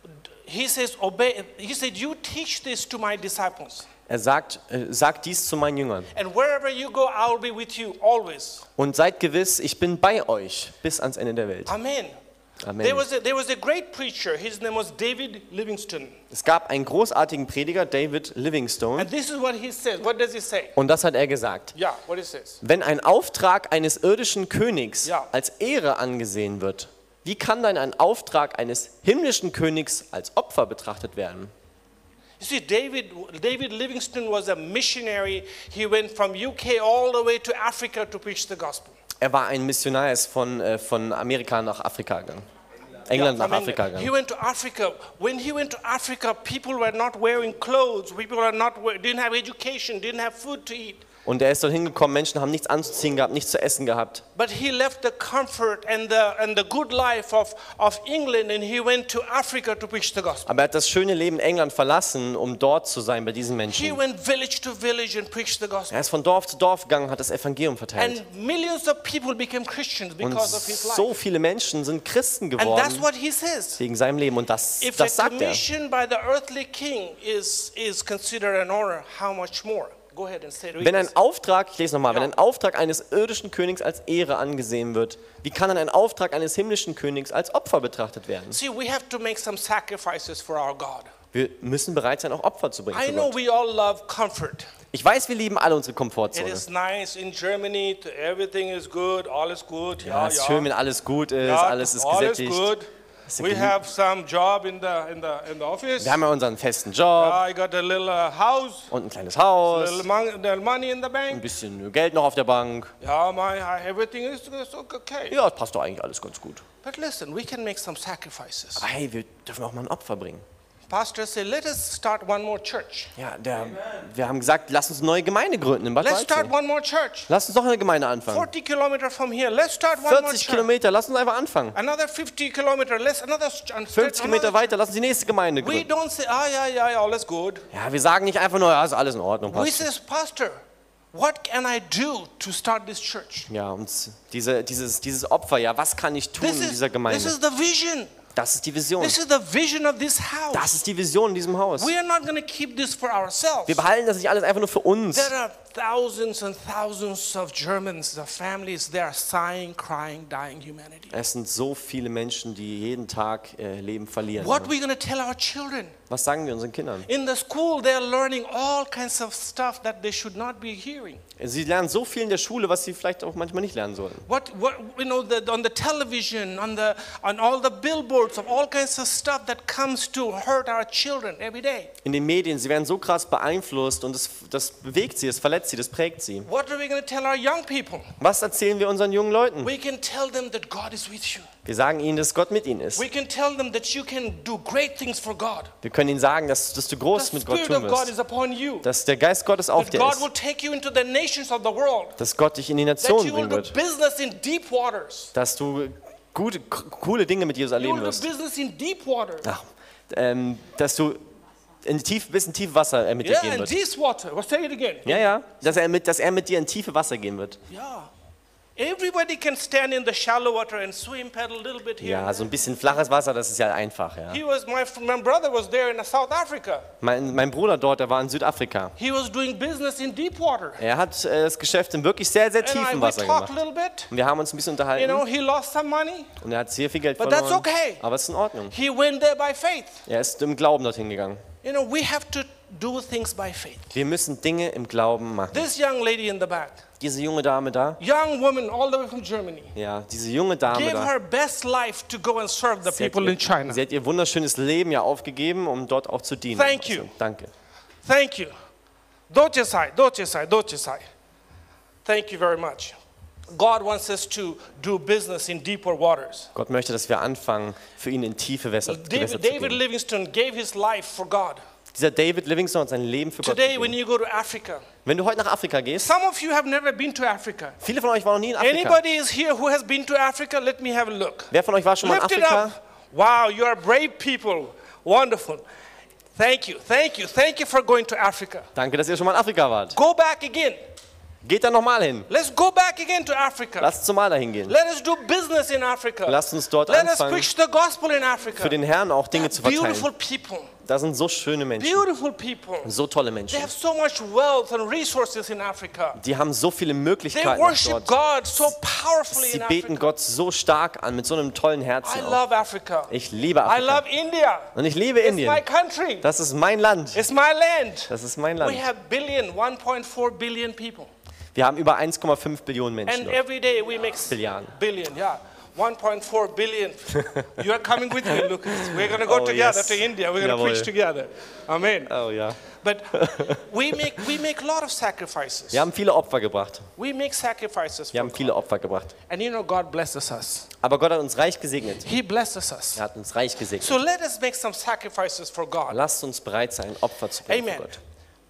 [SPEAKER 1] he says, obey. He said, you teach this to my disciples.
[SPEAKER 2] Er sagt, äh, sagt dies zu meinen Jüngern.
[SPEAKER 1] And wherever you go, I will be with you always.
[SPEAKER 2] Und seid gewiss, ich bin bei euch bis ans Ende der Welt.
[SPEAKER 1] Amen.
[SPEAKER 2] Amen.
[SPEAKER 1] There was, a, there was a great preacher. His name was David Livingstone.
[SPEAKER 2] Es gab einen großartigen Prediger, David Livingstone,
[SPEAKER 1] And this is what he says. What does he say?
[SPEAKER 2] und das hat er gesagt.
[SPEAKER 1] Yeah, what he says.
[SPEAKER 2] Wenn ein Auftrag eines irdischen Königs
[SPEAKER 1] Ja.
[SPEAKER 2] als Ehre angesehen wird, wie kann dann ein Auftrag eines himmlischen Königs als Opfer betrachtet werden?
[SPEAKER 1] You see, David, David Livingstone was a missionary. He went from U K all the way to Africa to preach the gospel.
[SPEAKER 2] Er war ein Missionar, er ist von, äh, von Amerika nach Afrika gegangen. England
[SPEAKER 1] Yeah,
[SPEAKER 2] nach
[SPEAKER 1] from
[SPEAKER 2] Afrika
[SPEAKER 1] England. He
[SPEAKER 2] gegangen.
[SPEAKER 1] went to Africa. When he went to Africa, people were not wearing clothes. People were not wear, didn't have education, didn't have food to eat.
[SPEAKER 2] Und er ist dort hingekommen, Menschen haben nichts anzuziehen gehabt, nichts zu essen gehabt.
[SPEAKER 1] But he left the comfort and the and the good life of, of England and he went to Africa to preach the gospel.
[SPEAKER 2] Aber er hat das schöne Leben England verlassen, um dort zu sein bei diesen
[SPEAKER 1] He
[SPEAKER 2] Menschen.
[SPEAKER 1] went village to village and preached the gospel.
[SPEAKER 2] Er ist von Dorf zu Dorf gegangen, hat das Evangelium verteilt.
[SPEAKER 1] And millions of people became Christians
[SPEAKER 2] Und
[SPEAKER 1] because of his
[SPEAKER 2] so
[SPEAKER 1] life.
[SPEAKER 2] viele Menschen sind Christen
[SPEAKER 1] And that's
[SPEAKER 2] geworden
[SPEAKER 1] what he says.
[SPEAKER 2] wegen seinem Leben. Und das,
[SPEAKER 1] If a
[SPEAKER 2] das sagt er.
[SPEAKER 1] commission by the earthly king is, is considered an honor, how much more? Go ahead and say it.
[SPEAKER 2] Wenn ein Auftrag, ich lese nochmal, wenn
[SPEAKER 1] Ja.
[SPEAKER 2] ein Auftrag eines irdischen Königs als Ehre angesehen wird, wie kann dann ein Auftrag eines himmlischen Königs als Opfer betrachtet werden?
[SPEAKER 1] See, we have to make some sacrifices for our God.
[SPEAKER 2] Wir müssen bereit sein, auch Opfer zu bringen
[SPEAKER 1] I
[SPEAKER 2] für
[SPEAKER 1] know
[SPEAKER 2] Gott.
[SPEAKER 1] we all love comfort.
[SPEAKER 2] Ich weiß, wir lieben alle unsere
[SPEAKER 1] It
[SPEAKER 2] Komfortzone.
[SPEAKER 1] is nice in Germany, to- everything is good, all is good.
[SPEAKER 2] Ja,
[SPEAKER 1] Yeah,
[SPEAKER 2] es ist
[SPEAKER 1] yeah.
[SPEAKER 2] schön, wenn alles gut ist,
[SPEAKER 1] Yeah,
[SPEAKER 2] alles ist
[SPEAKER 1] all is
[SPEAKER 2] gesättigt.
[SPEAKER 1] good.
[SPEAKER 2] ist
[SPEAKER 1] We
[SPEAKER 2] genü-
[SPEAKER 1] have some job in the in the in the office.
[SPEAKER 2] Wir haben ja unseren festen Job
[SPEAKER 1] I got a little uh, house,
[SPEAKER 2] und ein kleines
[SPEAKER 1] a
[SPEAKER 2] Haus,
[SPEAKER 1] little mon- little money in the
[SPEAKER 2] ein
[SPEAKER 1] bank.
[SPEAKER 2] bisschen Geld noch auf der Bank.
[SPEAKER 1] Yeah, my I- everything is is okay.
[SPEAKER 2] Ja, das passt doch eigentlich alles ganz gut.
[SPEAKER 1] But listen, we can make some sacrifices.
[SPEAKER 2] Aber hey, wir dürfen auch mal ein Opfer bringen.
[SPEAKER 1] Pastor said, let us start one more church.
[SPEAKER 2] Ja, der, wir haben gesagt, lass uns eine neue Gemeinde gründen in Bad
[SPEAKER 1] Let's start
[SPEAKER 2] Waldsee.
[SPEAKER 1] one more church.
[SPEAKER 2] Lass uns noch eine Gemeinde anfangen.
[SPEAKER 1] forty kilometers from here. Let's start one more
[SPEAKER 2] vierzig
[SPEAKER 1] church.
[SPEAKER 2] Kilometer, lass uns einfach anfangen.
[SPEAKER 1] Another fifty kilometers. Let's another.
[SPEAKER 2] fünfzig Kilometer weiter, lass uns die nächste Gemeinde
[SPEAKER 1] We
[SPEAKER 2] gründen.
[SPEAKER 1] don't say, ah, yeah, yeah, yeah, all is good.
[SPEAKER 2] Ja, wir sagen nicht einfach nur, ja, ist alles in Ordnung,
[SPEAKER 1] We
[SPEAKER 2] passt.
[SPEAKER 1] says, Pastor, what can I do to start this church?
[SPEAKER 2] Ja, und diese, dieses, dieses Opfer, ja, was kann ich tun
[SPEAKER 1] This
[SPEAKER 2] in
[SPEAKER 1] is,
[SPEAKER 2] dieser
[SPEAKER 1] this
[SPEAKER 2] Gemeinde?
[SPEAKER 1] is the vision.
[SPEAKER 2] Das ist die Vision.
[SPEAKER 1] This is the vision of this house.
[SPEAKER 2] Das ist die Vision in diesem Haus.
[SPEAKER 1] We are not going to keep this for ourselves.
[SPEAKER 2] Wir behalten das nicht alles einfach nur für uns.
[SPEAKER 1] There are thousands and thousands of Germans, the families, they are sighing, crying, dying humanity.
[SPEAKER 2] Es sind so viele Menschen, die jeden Tag äh, Leben verlieren.
[SPEAKER 1] What are we going to tell our children?
[SPEAKER 2] Was sagen wir unseren Kindern?
[SPEAKER 1] In the school, they are learning all kinds of stuff that they should not be hearing.
[SPEAKER 2] Sie lernen so viel in der Schule, was sie vielleicht auch manchmal nicht lernen sollten.
[SPEAKER 1] What, what you know, the, on the television, on the on all the billboards of all kinds of stuff that comes to hurt our children every day.
[SPEAKER 2] In den Medien, sie werden so krass beeinflusst und das, das bewegt sie, das verletzt sie, das prägt sie.
[SPEAKER 1] What are we going to tell our young people?
[SPEAKER 2] Was erzählen wir unseren jungen Leuten?
[SPEAKER 1] We can tell them that God is with you.
[SPEAKER 2] Wir sagen ihnen, dass Gott mit ihnen ist.
[SPEAKER 1] We can tell them that you can do great things for God.
[SPEAKER 2] Wir können ihnen sagen, dass, dass du
[SPEAKER 1] The
[SPEAKER 2] groß mit Gott
[SPEAKER 1] Spirit
[SPEAKER 2] tun
[SPEAKER 1] of God
[SPEAKER 2] wirst.
[SPEAKER 1] is upon you.
[SPEAKER 2] Dass der Geist Gottes auf
[SPEAKER 1] That
[SPEAKER 2] dir
[SPEAKER 1] God will
[SPEAKER 2] ist.
[SPEAKER 1] take you into the nations of the world.
[SPEAKER 2] Dass Gott dich in die
[SPEAKER 1] That
[SPEAKER 2] Nationen
[SPEAKER 1] you will
[SPEAKER 2] bringen
[SPEAKER 1] do
[SPEAKER 2] wird.
[SPEAKER 1] business in deep waters.
[SPEAKER 2] Dass du gute, k- coole Dinge mit Jesus
[SPEAKER 1] You
[SPEAKER 2] erleben
[SPEAKER 1] will do
[SPEAKER 2] wirst.
[SPEAKER 1] business in deep waters.
[SPEAKER 2] Ach, ähm, dass du in tief, bis in tiefe Wasser äh, mit dir
[SPEAKER 1] Yeah,
[SPEAKER 2] gehen
[SPEAKER 1] in
[SPEAKER 2] wird.
[SPEAKER 1] deep water. Well, say it again.
[SPEAKER 2] Ja, ja. Dass er, mit, dass er mit dir in tiefe Wasser gehen wird.
[SPEAKER 1] Yeah. Everybody can stand in the shallow water and swim, paddle a little bit here.
[SPEAKER 2] Ja, so ein bisschen flaches Wasser, das ist ja einfach. Ja.
[SPEAKER 1] He was my, my brother was there in South Africa.
[SPEAKER 2] Mein, mein Bruder dort, der war in Südafrika.
[SPEAKER 1] He was doing business in deep water.
[SPEAKER 2] Er hat äh, das Geschäft im wirklich sehr, sehr
[SPEAKER 1] And I,
[SPEAKER 2] tiefen
[SPEAKER 1] we
[SPEAKER 2] Wasser
[SPEAKER 1] talked a
[SPEAKER 2] gemacht.
[SPEAKER 1] little bit.
[SPEAKER 2] Und wir haben uns ein bisschen
[SPEAKER 1] You
[SPEAKER 2] unterhalten.
[SPEAKER 1] know, he lost some money,
[SPEAKER 2] Und er hat sehr viel Geld
[SPEAKER 1] but that's
[SPEAKER 2] verloren.
[SPEAKER 1] okay.
[SPEAKER 2] Aber es ist in Ordnung.
[SPEAKER 1] He went there by faith.
[SPEAKER 2] Er ist im Glauben dorthin gegangen.
[SPEAKER 1] You know, we have to do things by faith.
[SPEAKER 2] Wir müssen Dinge im Glauben machen.
[SPEAKER 1] This young lady in the back,
[SPEAKER 2] Diese junge Dame da,
[SPEAKER 1] young woman all the way from Germany,
[SPEAKER 2] ja, diese junge Dame
[SPEAKER 1] gave
[SPEAKER 2] da,
[SPEAKER 1] her best life to go and serve the
[SPEAKER 2] sie hat,
[SPEAKER 1] people in China.
[SPEAKER 2] ihr, sie hat ihr wunderschönes Leben ja aufgegeben, um dort auch zu dienen.
[SPEAKER 1] Thank you.
[SPEAKER 2] Also, danke.
[SPEAKER 1] Thank you. Dochesai, dochesai, dochesai. Thank you very much. God wants us to do business in deeper waters.
[SPEAKER 2] Gott möchte, dass wir anfangen, für ihn in tiefe Wässer, Gewässer
[SPEAKER 1] David,
[SPEAKER 2] zu
[SPEAKER 1] David
[SPEAKER 2] gehen.
[SPEAKER 1] Livingstone gave his life for God.
[SPEAKER 2] Dieser David Livingstone hat sein Leben für Gott
[SPEAKER 1] Today, when
[SPEAKER 2] gegeben.
[SPEAKER 1] you go to Africa,
[SPEAKER 2] Wenn du heute nach Afrika gehst,
[SPEAKER 1] some of you have never been to Africa.
[SPEAKER 2] viele von euch waren noch nie in Afrika.
[SPEAKER 1] Anybody is here who has been to Africa? Let me have a look.
[SPEAKER 2] Wer von euch war schon mal in
[SPEAKER 1] Lift it
[SPEAKER 2] Afrika?
[SPEAKER 1] up. Wow, you are brave people. Wonderful. Thank you, thank you, thank you for going to Africa.
[SPEAKER 2] Danke, dass ihr schon mal in Afrika wart.
[SPEAKER 1] Go back again.
[SPEAKER 2] Geht da nochmal hin.
[SPEAKER 1] Let's go back again to Africa.
[SPEAKER 2] Lasst uns mal dahin gehen.
[SPEAKER 1] Let us do business in Africa.
[SPEAKER 2] Lasst uns dort
[SPEAKER 1] Let us
[SPEAKER 2] anfangen,
[SPEAKER 1] preach the gospel in Africa.
[SPEAKER 2] für den Herrn auch Dinge zu
[SPEAKER 1] Beautiful
[SPEAKER 2] verteilen.
[SPEAKER 1] people.
[SPEAKER 2] Da sind so schöne Menschen,
[SPEAKER 1] Beautiful people.
[SPEAKER 2] so tolle
[SPEAKER 1] They
[SPEAKER 2] Menschen.
[SPEAKER 1] have so much wealth and resources in Africa.
[SPEAKER 2] Die haben so viele
[SPEAKER 1] They
[SPEAKER 2] Möglichkeiten auch
[SPEAKER 1] worship
[SPEAKER 2] dort.
[SPEAKER 1] God so powerfully
[SPEAKER 2] Sie
[SPEAKER 1] in
[SPEAKER 2] beten
[SPEAKER 1] Africa.
[SPEAKER 2] Gott so stark an, mit so einem tollen
[SPEAKER 1] I
[SPEAKER 2] Herzen auch.
[SPEAKER 1] love Africa.
[SPEAKER 2] Ich liebe
[SPEAKER 1] I
[SPEAKER 2] Afrika.
[SPEAKER 1] love India.
[SPEAKER 2] Und ich liebe
[SPEAKER 1] It's my
[SPEAKER 2] Indien.
[SPEAKER 1] country.
[SPEAKER 2] Das ist mein Land.
[SPEAKER 1] It's my land.
[SPEAKER 2] Das ist mein
[SPEAKER 1] We
[SPEAKER 2] Land.
[SPEAKER 1] have billion, one point four billion people.
[SPEAKER 2] Wir haben über eins Komma fünf Billionen Menschen
[SPEAKER 1] And
[SPEAKER 2] dort.
[SPEAKER 1] every day we make
[SPEAKER 2] Billion.
[SPEAKER 1] billion, yeah. one point four billion. You are coming with me, Lucas. We're going to go
[SPEAKER 2] Oh,
[SPEAKER 1] together
[SPEAKER 2] yes.
[SPEAKER 1] to India. We're going to
[SPEAKER 2] Jawohl.
[SPEAKER 1] preach together. Amen.
[SPEAKER 2] Oh ja.
[SPEAKER 1] But we make we make a lot of sacrifices.
[SPEAKER 2] Wir haben viele Opfer gebracht.
[SPEAKER 1] We make sacrifices
[SPEAKER 2] Wir
[SPEAKER 1] for
[SPEAKER 2] haben
[SPEAKER 1] God.
[SPEAKER 2] viele Opfer gebracht.
[SPEAKER 1] And you know God blesses us.
[SPEAKER 2] Aber Gott hat uns reich gesegnet.
[SPEAKER 1] He blesses us.
[SPEAKER 2] Er hat uns reich gesegnet.
[SPEAKER 1] So let us make some sacrifices for God.
[SPEAKER 2] Lasst uns bereit sein, Opfer zu bringen für
[SPEAKER 1] Amen.
[SPEAKER 2] Gott.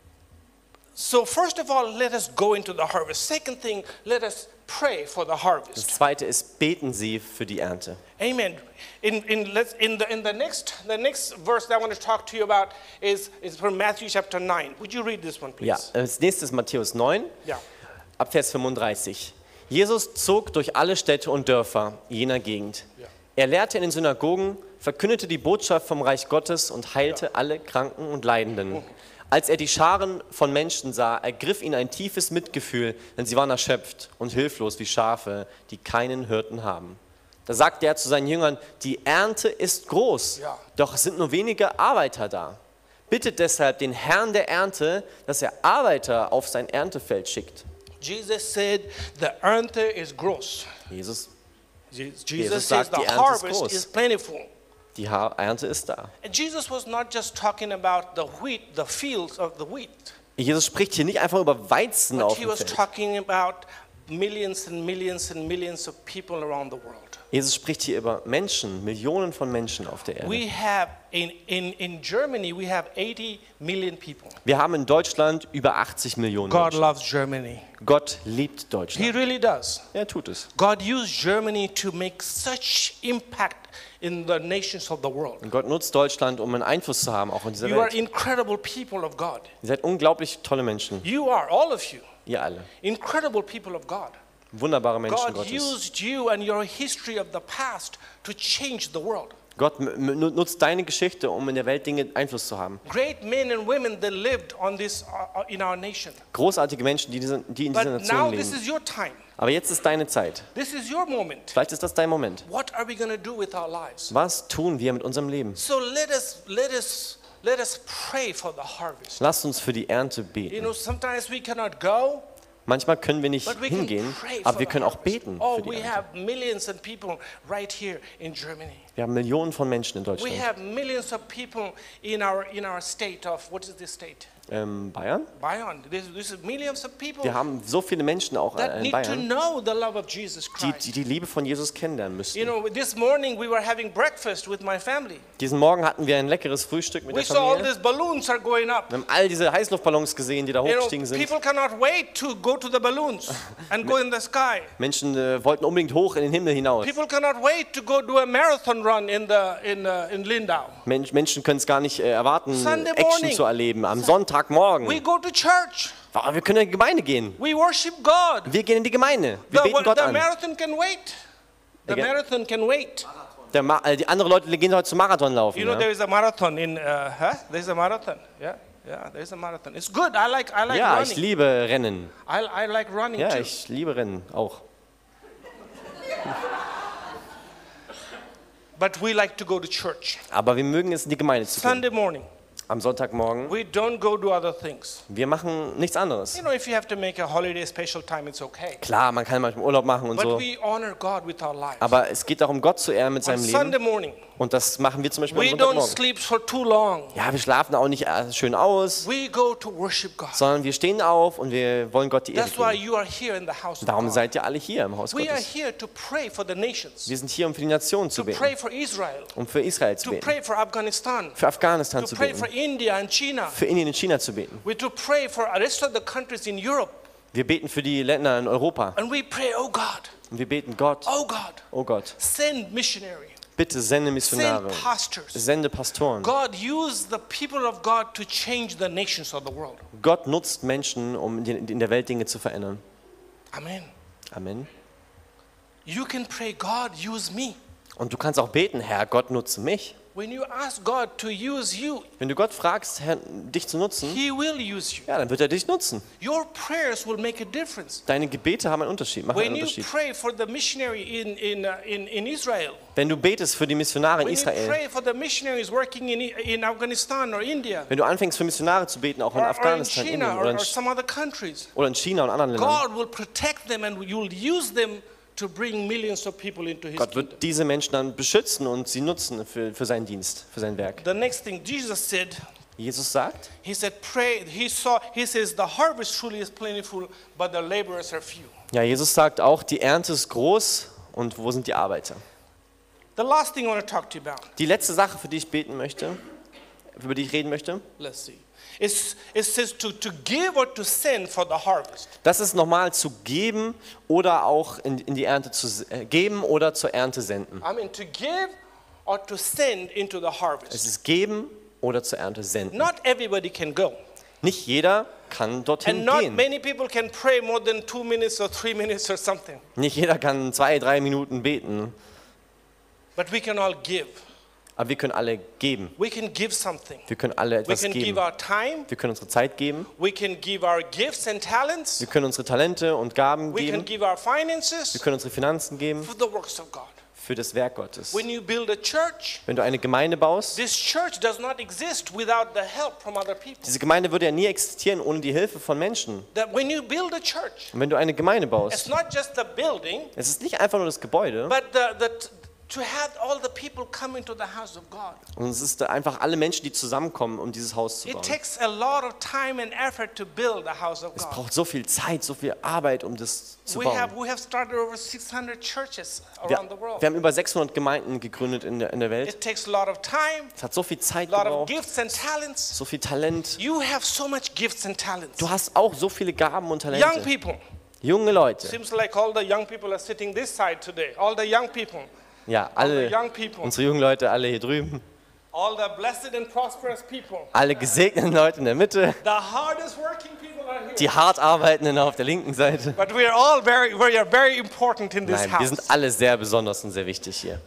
[SPEAKER 1] So first of all, let us go into the harvest. Second thing, let us pray for the
[SPEAKER 2] Das
[SPEAKER 1] harvest.
[SPEAKER 2] zweite ist, beten Sie für die Ernte.
[SPEAKER 1] Amen. In in let's in the in the next the next verse that I want to talk to you about is is from Matthew chapter nine. Would you read this one, please?
[SPEAKER 2] Ja, als nächstes Matthäus neun,
[SPEAKER 1] Yeah.
[SPEAKER 2] ab Vers fünfunddreißig. Jesus zog durch alle Städte und Dörfer jener Gegend.
[SPEAKER 1] Ja.
[SPEAKER 2] Er lehrte in den Synagogen, verkündete die Botschaft vom Reich Gottes und heilte alle Kranken und Leidenden. Als er die Scharen von Menschen sah, ergriff ihn ein tiefes Mitgefühl, denn sie waren erschöpft und hilflos wie Schafe, die keinen Hirten haben. Da sagte er zu seinen Jüngern, die Ernte ist groß,
[SPEAKER 1] Ja.
[SPEAKER 2] doch es sind nur wenige Arbeiter da. Bittet deshalb den Herrn der Ernte, dass er Arbeiter auf sein Erntefeld schickt.
[SPEAKER 1] Jesus said the ernte is gross.
[SPEAKER 2] Jesus,
[SPEAKER 1] Jesus,
[SPEAKER 2] Jesus
[SPEAKER 1] says
[SPEAKER 2] sagt,
[SPEAKER 1] the
[SPEAKER 2] die Ernte ist
[SPEAKER 1] harvest
[SPEAKER 2] groß.
[SPEAKER 1] is plentiful.
[SPEAKER 2] die Ha- Ernte ist da.
[SPEAKER 1] And Jesus was not just talking about the wheat, the fields of the wheat,
[SPEAKER 2] Jesus spricht hier nicht einfach über Weizen
[SPEAKER 1] but
[SPEAKER 2] auf
[SPEAKER 1] he
[SPEAKER 2] dem
[SPEAKER 1] was
[SPEAKER 2] Feld.
[SPEAKER 1] talking about millions and millions and millions of people around the world.
[SPEAKER 2] Jesus spricht hier über Menschen, Millionen von Menschen auf der Erde.
[SPEAKER 1] We have in, in, in Germany we have eighty million people.
[SPEAKER 2] Wir haben in Deutschland über achtzig Millionen
[SPEAKER 1] God
[SPEAKER 2] Menschen.
[SPEAKER 1] loves Germany.
[SPEAKER 2] Gott liebt
[SPEAKER 1] He
[SPEAKER 2] Deutschland.
[SPEAKER 1] really does.
[SPEAKER 2] Er tut es.
[SPEAKER 1] God used Germany to make such impact in the nations of the world.
[SPEAKER 2] Und Gott nutzt Deutschland, um einen Einfluss zu haben, auch in dieser
[SPEAKER 1] You are
[SPEAKER 2] Welt.
[SPEAKER 1] incredible people of God.
[SPEAKER 2] Ihr seid unglaublich tolle Menschen,
[SPEAKER 1] You are, all of you,
[SPEAKER 2] ihr alle.
[SPEAKER 1] incredible people of God.
[SPEAKER 2] Wunderbare Menschen
[SPEAKER 1] God
[SPEAKER 2] Gottes.
[SPEAKER 1] used you and your history of the past to change the world.
[SPEAKER 2] Gott m- m- nutzt deine Geschichte, um in der Welt Dinge Einfluss zu haben.
[SPEAKER 1] Great men and women that lived on this uh, uh, in our nation.
[SPEAKER 2] Großartige Menschen, die, diese, die in dieser
[SPEAKER 1] But
[SPEAKER 2] Nation
[SPEAKER 1] now this
[SPEAKER 2] leben.
[SPEAKER 1] is your time.
[SPEAKER 2] Aber jetzt ist deine Zeit.
[SPEAKER 1] This is your moment.
[SPEAKER 2] Vielleicht ist das dein Moment.
[SPEAKER 1] What are we going to do with our lives?
[SPEAKER 2] Was tun wir mit unserem Leben?
[SPEAKER 1] So let us let us let us pray for the harvest.
[SPEAKER 2] Lasst uns für die Ernte
[SPEAKER 1] You
[SPEAKER 2] beten.
[SPEAKER 1] know, sometimes we cannot go,
[SPEAKER 2] Manchmal können wir nicht
[SPEAKER 1] but we can
[SPEAKER 2] hingehen,
[SPEAKER 1] pray for
[SPEAKER 2] aber wir
[SPEAKER 1] the
[SPEAKER 2] können auch
[SPEAKER 1] harvest.
[SPEAKER 2] beten
[SPEAKER 1] Oh,
[SPEAKER 2] für die
[SPEAKER 1] we
[SPEAKER 2] Ernte.
[SPEAKER 1] have millions of people right here in Germany.
[SPEAKER 2] Wir haben Millionen von Menschen in
[SPEAKER 1] We
[SPEAKER 2] Deutschland.
[SPEAKER 1] have millions of people in our in our state of what is this state?
[SPEAKER 2] Ähm, Bayern?
[SPEAKER 1] Bayern. This, this is millions of people
[SPEAKER 2] Wir haben so viele Menschen auch
[SPEAKER 1] that
[SPEAKER 2] äh, in
[SPEAKER 1] need to
[SPEAKER 2] Bayern,
[SPEAKER 1] know the love of Jesus
[SPEAKER 2] die,
[SPEAKER 1] Christ.
[SPEAKER 2] die die Liebe von Jesus kennenlernen
[SPEAKER 1] You
[SPEAKER 2] müssen.
[SPEAKER 1] know, this morning we were having breakfast with my family.
[SPEAKER 2] Diesen Morgen hatten wir ein leckeres Frühstück mit
[SPEAKER 1] We
[SPEAKER 2] der
[SPEAKER 1] saw all
[SPEAKER 2] Familie.
[SPEAKER 1] these balloons are going up.
[SPEAKER 2] Wir haben all diese Heißluftballons gesehen, die da
[SPEAKER 1] You know,
[SPEAKER 2] hochgestiegen sind.
[SPEAKER 1] people cannot wait to go to the balloons and go in the sky.
[SPEAKER 2] Menschen äh, wollten unbedingt hoch in den Himmel hinaus.
[SPEAKER 1] People cannot wait to go do a marathon run in the in uh, in Lindau.
[SPEAKER 2] Mensch, Menschen können es gar nicht äh, erwarten,
[SPEAKER 1] Sunday
[SPEAKER 2] Action
[SPEAKER 1] morning.
[SPEAKER 2] zu erleben am
[SPEAKER 1] We
[SPEAKER 2] Sonntagmorgen.
[SPEAKER 1] go to church.
[SPEAKER 2] Aber wir können in die Gemeinde gehen.
[SPEAKER 1] We worship God.
[SPEAKER 2] Wir gehen in die Gemeinde. Wir
[SPEAKER 1] The,
[SPEAKER 2] beten Gott
[SPEAKER 1] the
[SPEAKER 2] an.
[SPEAKER 1] marathon can wait. The
[SPEAKER 2] Again?
[SPEAKER 1] marathon can wait.
[SPEAKER 2] Der Ma äh, die anderen Leute gehen heute zum Marathon laufen.
[SPEAKER 1] You know,
[SPEAKER 2] Ja,
[SPEAKER 1] there is a marathon in, uh, huh? There's a marathon. Yeah, yeah, there's a marathon. It's good. I like, I like
[SPEAKER 2] ja ich
[SPEAKER 1] running.
[SPEAKER 2] liebe Rennen.
[SPEAKER 1] I, I like running
[SPEAKER 2] Ja,
[SPEAKER 1] too.
[SPEAKER 2] ich liebe Rennen auch.
[SPEAKER 1] But we like to go to church.
[SPEAKER 2] Aber wir mögen es, in die Gemeinde zu gehen.
[SPEAKER 1] Sunday morning,
[SPEAKER 2] am Sonntagmorgen.
[SPEAKER 1] we don't go do other things.
[SPEAKER 2] Wir machen nichts anderes.
[SPEAKER 1] You know, if you have to make a holiday special time, it's okay.
[SPEAKER 2] Klar, man kann manchmal Urlaub machen und
[SPEAKER 1] But
[SPEAKER 2] so.
[SPEAKER 1] we honor God with our lives.
[SPEAKER 2] Aber es geht darum, Gott zu ehren mit
[SPEAKER 1] On
[SPEAKER 2] seinem
[SPEAKER 1] Sunday
[SPEAKER 2] Leben.
[SPEAKER 1] morning,
[SPEAKER 2] Und das machen wir zum Beispiel
[SPEAKER 1] we
[SPEAKER 2] am
[SPEAKER 1] don't
[SPEAKER 2] Sonntagmorgen.
[SPEAKER 1] sleep for too long.
[SPEAKER 2] Ja, wir schlafen auch nicht äh, schön aus,
[SPEAKER 1] We go to worship God.
[SPEAKER 2] sondern wir stehen auf und wir wollen Gott die Ehre
[SPEAKER 1] That's why
[SPEAKER 2] geben.
[SPEAKER 1] you are here in the house of
[SPEAKER 2] Darum
[SPEAKER 1] God.
[SPEAKER 2] seid ihr alle hier im Haus
[SPEAKER 1] We are
[SPEAKER 2] Gottes.
[SPEAKER 1] here to pray for the nations,
[SPEAKER 2] Wir sind hier, um für die Nationen zu
[SPEAKER 1] to
[SPEAKER 2] beten,
[SPEAKER 1] pray for Israel,
[SPEAKER 2] um für Israel zu
[SPEAKER 1] to
[SPEAKER 2] beten,
[SPEAKER 1] pray for Afghanistan,
[SPEAKER 2] für Afghanistan
[SPEAKER 1] to
[SPEAKER 2] zu
[SPEAKER 1] pray
[SPEAKER 2] beten,
[SPEAKER 1] for India and China.
[SPEAKER 2] für Indien und China zu beten.
[SPEAKER 1] We to pray for the rest of the countries in Europe.
[SPEAKER 2] Wir beten für die Länder in Europa
[SPEAKER 1] And we pray, oh God,
[SPEAKER 2] und wir beten, Gott,
[SPEAKER 1] oh God,
[SPEAKER 2] oh Gott,
[SPEAKER 1] send missionary,
[SPEAKER 2] bitte sende Missionare,
[SPEAKER 1] send pastors.
[SPEAKER 2] sende Pastoren.
[SPEAKER 1] God, use the people of God to change the nations of the world.
[SPEAKER 2] Gott nutzt Menschen, um in in der Welt Dinge zu verändern.
[SPEAKER 1] Amen.
[SPEAKER 2] Amen.
[SPEAKER 1] You can pray, God, use me.
[SPEAKER 2] Und du kannst auch beten, Herr, Gott nutze mich.
[SPEAKER 1] When you ask God to use you,
[SPEAKER 2] Wenn du Gott fragst, Herr, dich zu nutzen,
[SPEAKER 1] He will use you.
[SPEAKER 2] ja, dann wird er dich nutzen.
[SPEAKER 1] Your prayers will make a difference.
[SPEAKER 2] Deine Gebete haben einen Unterschied, machen einen
[SPEAKER 1] When you
[SPEAKER 2] Unterschied.
[SPEAKER 1] pray for the missionary in, in, uh, in, in Israel,
[SPEAKER 2] Wenn du betest für die Missionare in
[SPEAKER 1] when you
[SPEAKER 2] Israel,
[SPEAKER 1] pray for the missionaries working in, in Afghanistan or India,
[SPEAKER 2] wenn du anfängst für Missionare zu beten, auch in
[SPEAKER 1] or, or in
[SPEAKER 2] Afghanistan, Indien
[SPEAKER 1] China
[SPEAKER 2] oder
[SPEAKER 1] or,
[SPEAKER 2] in,
[SPEAKER 1] or some other countries,
[SPEAKER 2] oder in China und anderen Ländern,
[SPEAKER 1] God will protect them and you'll use them to bring millions of people into His
[SPEAKER 2] Gott
[SPEAKER 1] kingdom.
[SPEAKER 2] wird diese Menschen dann beschützen und sie nutzen für, für seinen Dienst, für sein Werk.
[SPEAKER 1] The next thing Jesus said,
[SPEAKER 2] Jesus sagt,
[SPEAKER 1] He said, pray, He saw, He says, the harvest truly is plentiful, but the laborers are few.
[SPEAKER 2] ja, Jesus sagt auch, die Ernte ist groß und wo sind die Arbeiter?
[SPEAKER 1] The last thing I want to talk to you about,
[SPEAKER 2] Die letzte Sache, für die ich beten möchte, über die ich reden möchte,
[SPEAKER 1] let's see. It's, it says to, to give or to send for the harvest.
[SPEAKER 2] das ist nochmal zu geben oder auch in, in die Ernte zu äh, geben oder zur Ernte senden.
[SPEAKER 1] I mean, to give or to send into the
[SPEAKER 2] Es
[SPEAKER 1] harvest.
[SPEAKER 2] ist geben oder zur Ernte senden.
[SPEAKER 1] Not everybody can go.
[SPEAKER 2] Nicht jeder kann dorthin
[SPEAKER 1] And not
[SPEAKER 2] gehen.
[SPEAKER 1] many people can pray more than two minutes or three minutes or something.
[SPEAKER 2] Nicht jeder kann zwei, drei Minuten beten.
[SPEAKER 1] But we can all give.
[SPEAKER 2] Aber wir können alle geben.
[SPEAKER 1] We can give something.
[SPEAKER 2] Wir können alle
[SPEAKER 1] We
[SPEAKER 2] etwas
[SPEAKER 1] can give
[SPEAKER 2] geben.
[SPEAKER 1] our time.
[SPEAKER 2] Wir können unsere Zeit geben.
[SPEAKER 1] We can give our gifts and talents.
[SPEAKER 2] Wir können unsere Talente und Gaben
[SPEAKER 1] We can
[SPEAKER 2] geben.
[SPEAKER 1] give our
[SPEAKER 2] Wir
[SPEAKER 1] finances
[SPEAKER 2] können unsere Finanzen geben
[SPEAKER 1] for the works of God.
[SPEAKER 2] für das Werk Gottes.
[SPEAKER 1] When you build a church,
[SPEAKER 2] Wenn du eine Gemeinde baust,
[SPEAKER 1] this church does not exist without the help from other people.
[SPEAKER 2] diese Gemeinde würde ja nie existieren ohne die Hilfe von Menschen.
[SPEAKER 1] That when you build a church,
[SPEAKER 2] Und wenn du eine Gemeinde
[SPEAKER 1] it's
[SPEAKER 2] baust,
[SPEAKER 1] not just the building,
[SPEAKER 2] es ist nicht einfach nur das Gebäude,
[SPEAKER 1] but the, the to have all the people come into the house of God.
[SPEAKER 2] und es ist einfach alle Menschen, die zusammenkommen, um dieses Haus zu
[SPEAKER 1] It
[SPEAKER 2] bauen.
[SPEAKER 1] takes a lot of time and effort to build a house of
[SPEAKER 2] Es
[SPEAKER 1] God.
[SPEAKER 2] braucht so viel Zeit, so viel Arbeit, um das zu
[SPEAKER 1] We have,
[SPEAKER 2] bauen.
[SPEAKER 1] we have started over six hundred churches
[SPEAKER 2] Wir,
[SPEAKER 1] around the world.
[SPEAKER 2] wir haben über sechshundert Gemeinden gegründet in der, in der Welt.
[SPEAKER 1] It takes a lot of time,
[SPEAKER 2] Es hat so viel Zeit
[SPEAKER 1] a lot of
[SPEAKER 2] gebraucht,
[SPEAKER 1] gifts and talents.
[SPEAKER 2] so viel Talent.
[SPEAKER 1] You have so much gifts and talents.
[SPEAKER 2] Du hast auch so viele Gaben und
[SPEAKER 1] Young
[SPEAKER 2] Talente.
[SPEAKER 1] people.
[SPEAKER 2] Junge Leute.
[SPEAKER 1] Seems like all the young people are sitting this side today. All the young people.
[SPEAKER 2] Ja,
[SPEAKER 1] All the
[SPEAKER 2] alle,
[SPEAKER 1] young people.
[SPEAKER 2] unsere jungen Leute, alle hier drüben.
[SPEAKER 1] All the blessed and prosperous people.
[SPEAKER 2] Alle gesegneten Leute in der Mitte.
[SPEAKER 1] The hardest working people are here.
[SPEAKER 2] Die hart arbeitenden auf der linken Seite.
[SPEAKER 1] But we are all very, we are very important in this
[SPEAKER 2] Nein, wir
[SPEAKER 1] house.
[SPEAKER 2] sind alle sehr besonders und sehr wichtig hier.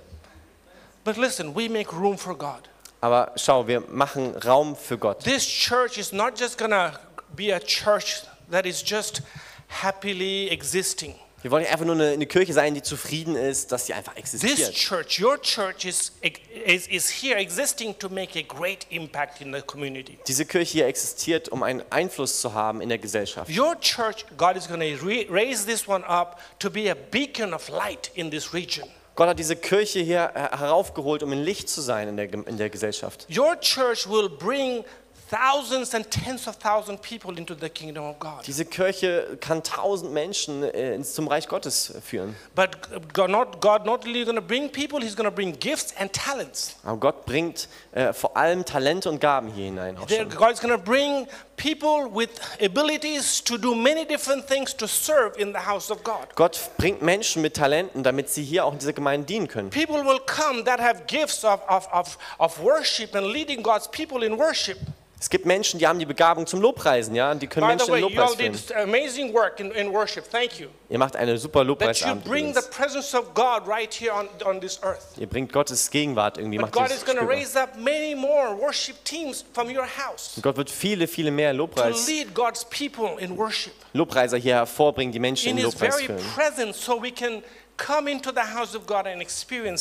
[SPEAKER 1] But listen, we make room for God.
[SPEAKER 2] Aber schau, wir machen Raum für Gott.
[SPEAKER 1] This church is not just gonna be a church that is just happily existing.
[SPEAKER 2] Wir wollen nicht einfach nur eine, eine Kirche sein, die zufrieden ist, dass sie einfach
[SPEAKER 1] This
[SPEAKER 2] existiert.
[SPEAKER 1] church, your church, is, is, is here existing to make a great impact in the community.
[SPEAKER 2] Diese Kirche hier existiert, um einen Einfluss zu haben in der Gesellschaft.
[SPEAKER 1] Your church, God is going to re- raise this one up to be a beacon of light in this region.
[SPEAKER 2] Gott hat diese Kirche hier her- heraufgeholt, um ein Licht zu sein in der, Gem- in der Gesellschaft.
[SPEAKER 1] Your church will bring thousands and tens of thousands of people into the kingdom of God.
[SPEAKER 2] Diese Kirche kann tausend Menschen äh, ins- zum Reich Gottes führen.
[SPEAKER 1] But God not, God not only going to bring people, He's going to bring gifts and talents.
[SPEAKER 2] Aber Gott bringt äh, vor allem Talente und Gaben hier hinein. Auch
[SPEAKER 1] There,
[SPEAKER 2] schon.
[SPEAKER 1] God is going to bring people with abilities to do many different things to serve in the house of God.
[SPEAKER 2] Gott bringt Menschen mit Talenten, damit sie hier auch in dieser Gemeinde dienen können.
[SPEAKER 1] People will come that have gifts of, of, of, of worship and leading God's people in worship.
[SPEAKER 2] Es gibt Menschen, die haben die Begabung zum Lobpreisen, ja, und die können
[SPEAKER 1] By the
[SPEAKER 2] Menschen in
[SPEAKER 1] way, you all
[SPEAKER 2] Lobpreis
[SPEAKER 1] did
[SPEAKER 2] führen.
[SPEAKER 1] amazing work in, in worship. Thank you.
[SPEAKER 2] Ihr macht eine super
[SPEAKER 1] That you
[SPEAKER 2] Lobpreisabend
[SPEAKER 1] bring the
[SPEAKER 2] übrigens.
[SPEAKER 1] presence of God right here on, on this earth.
[SPEAKER 2] Ihr bringt Gottes Gegenwart irgendwie,
[SPEAKER 1] But
[SPEAKER 2] macht
[SPEAKER 1] God
[SPEAKER 2] das
[SPEAKER 1] is going to
[SPEAKER 2] spürbar.
[SPEAKER 1] raise up many more worship teams from your house
[SPEAKER 2] Und Gott wird viele, viele mehr
[SPEAKER 1] to
[SPEAKER 2] Lobpreis,
[SPEAKER 1] lead God's people in worship.
[SPEAKER 2] Lobpreiser hier hervorbringen, die Menschen
[SPEAKER 1] In
[SPEAKER 2] in
[SPEAKER 1] His
[SPEAKER 2] Lobpreis
[SPEAKER 1] very
[SPEAKER 2] führen.
[SPEAKER 1] presence, so we can come into the house of God and experience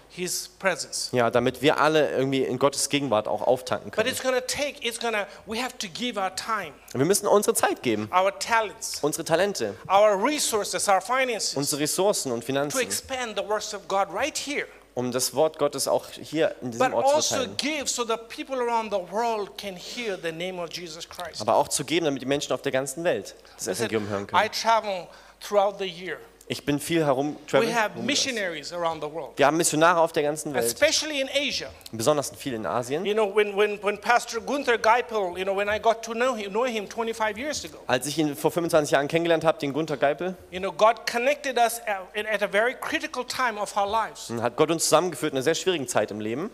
[SPEAKER 1] His presence.
[SPEAKER 2] Ja, damit wir alle irgendwie in Gottes Gegenwart auch auftanken
[SPEAKER 1] But
[SPEAKER 2] können.
[SPEAKER 1] it's going to take, it's going to, we have to give our time,
[SPEAKER 2] Wir müssen unsere Zeit geben,
[SPEAKER 1] our talents,
[SPEAKER 2] unsere Talente,
[SPEAKER 1] our resources, our finances
[SPEAKER 2] unsere Ressourcen und
[SPEAKER 1] to
[SPEAKER 2] Finanzen,
[SPEAKER 1] expand the works of God right here.
[SPEAKER 2] um das Wort Gottes auch hier in diesem
[SPEAKER 1] But
[SPEAKER 2] Ort zu
[SPEAKER 1] also
[SPEAKER 2] verteilen.
[SPEAKER 1] give so that people around the world can hear the name of Jesus Christ.
[SPEAKER 2] Aber auch zu geben, damit die Menschen auf der ganzen Welt das
[SPEAKER 1] Listen,
[SPEAKER 2] Evangelium hören
[SPEAKER 1] I
[SPEAKER 2] können.
[SPEAKER 1] travel throughout the year.
[SPEAKER 2] Ich bin viel herum,
[SPEAKER 1] We
[SPEAKER 2] travel,
[SPEAKER 1] have
[SPEAKER 2] rumgereist.
[SPEAKER 1] missionaries around the world,
[SPEAKER 2] Wir haben Missionare auf der ganzen Welt,
[SPEAKER 1] especially in Asia.
[SPEAKER 2] besonders viel in Asien.
[SPEAKER 1] You know, when, when, when Pastor Gunther Geipel, you know, when I got to know him, know him twenty-five years ago,
[SPEAKER 2] Als ich ihn vor fünfundzwanzig Jahren kennengelernt habe, den Gunther Geipel,
[SPEAKER 1] you know, God connected us at, at a very critical time of our lives.
[SPEAKER 2] hat Gott uns zusammengeführt in einer sehr schwierigen Zeit im Leben.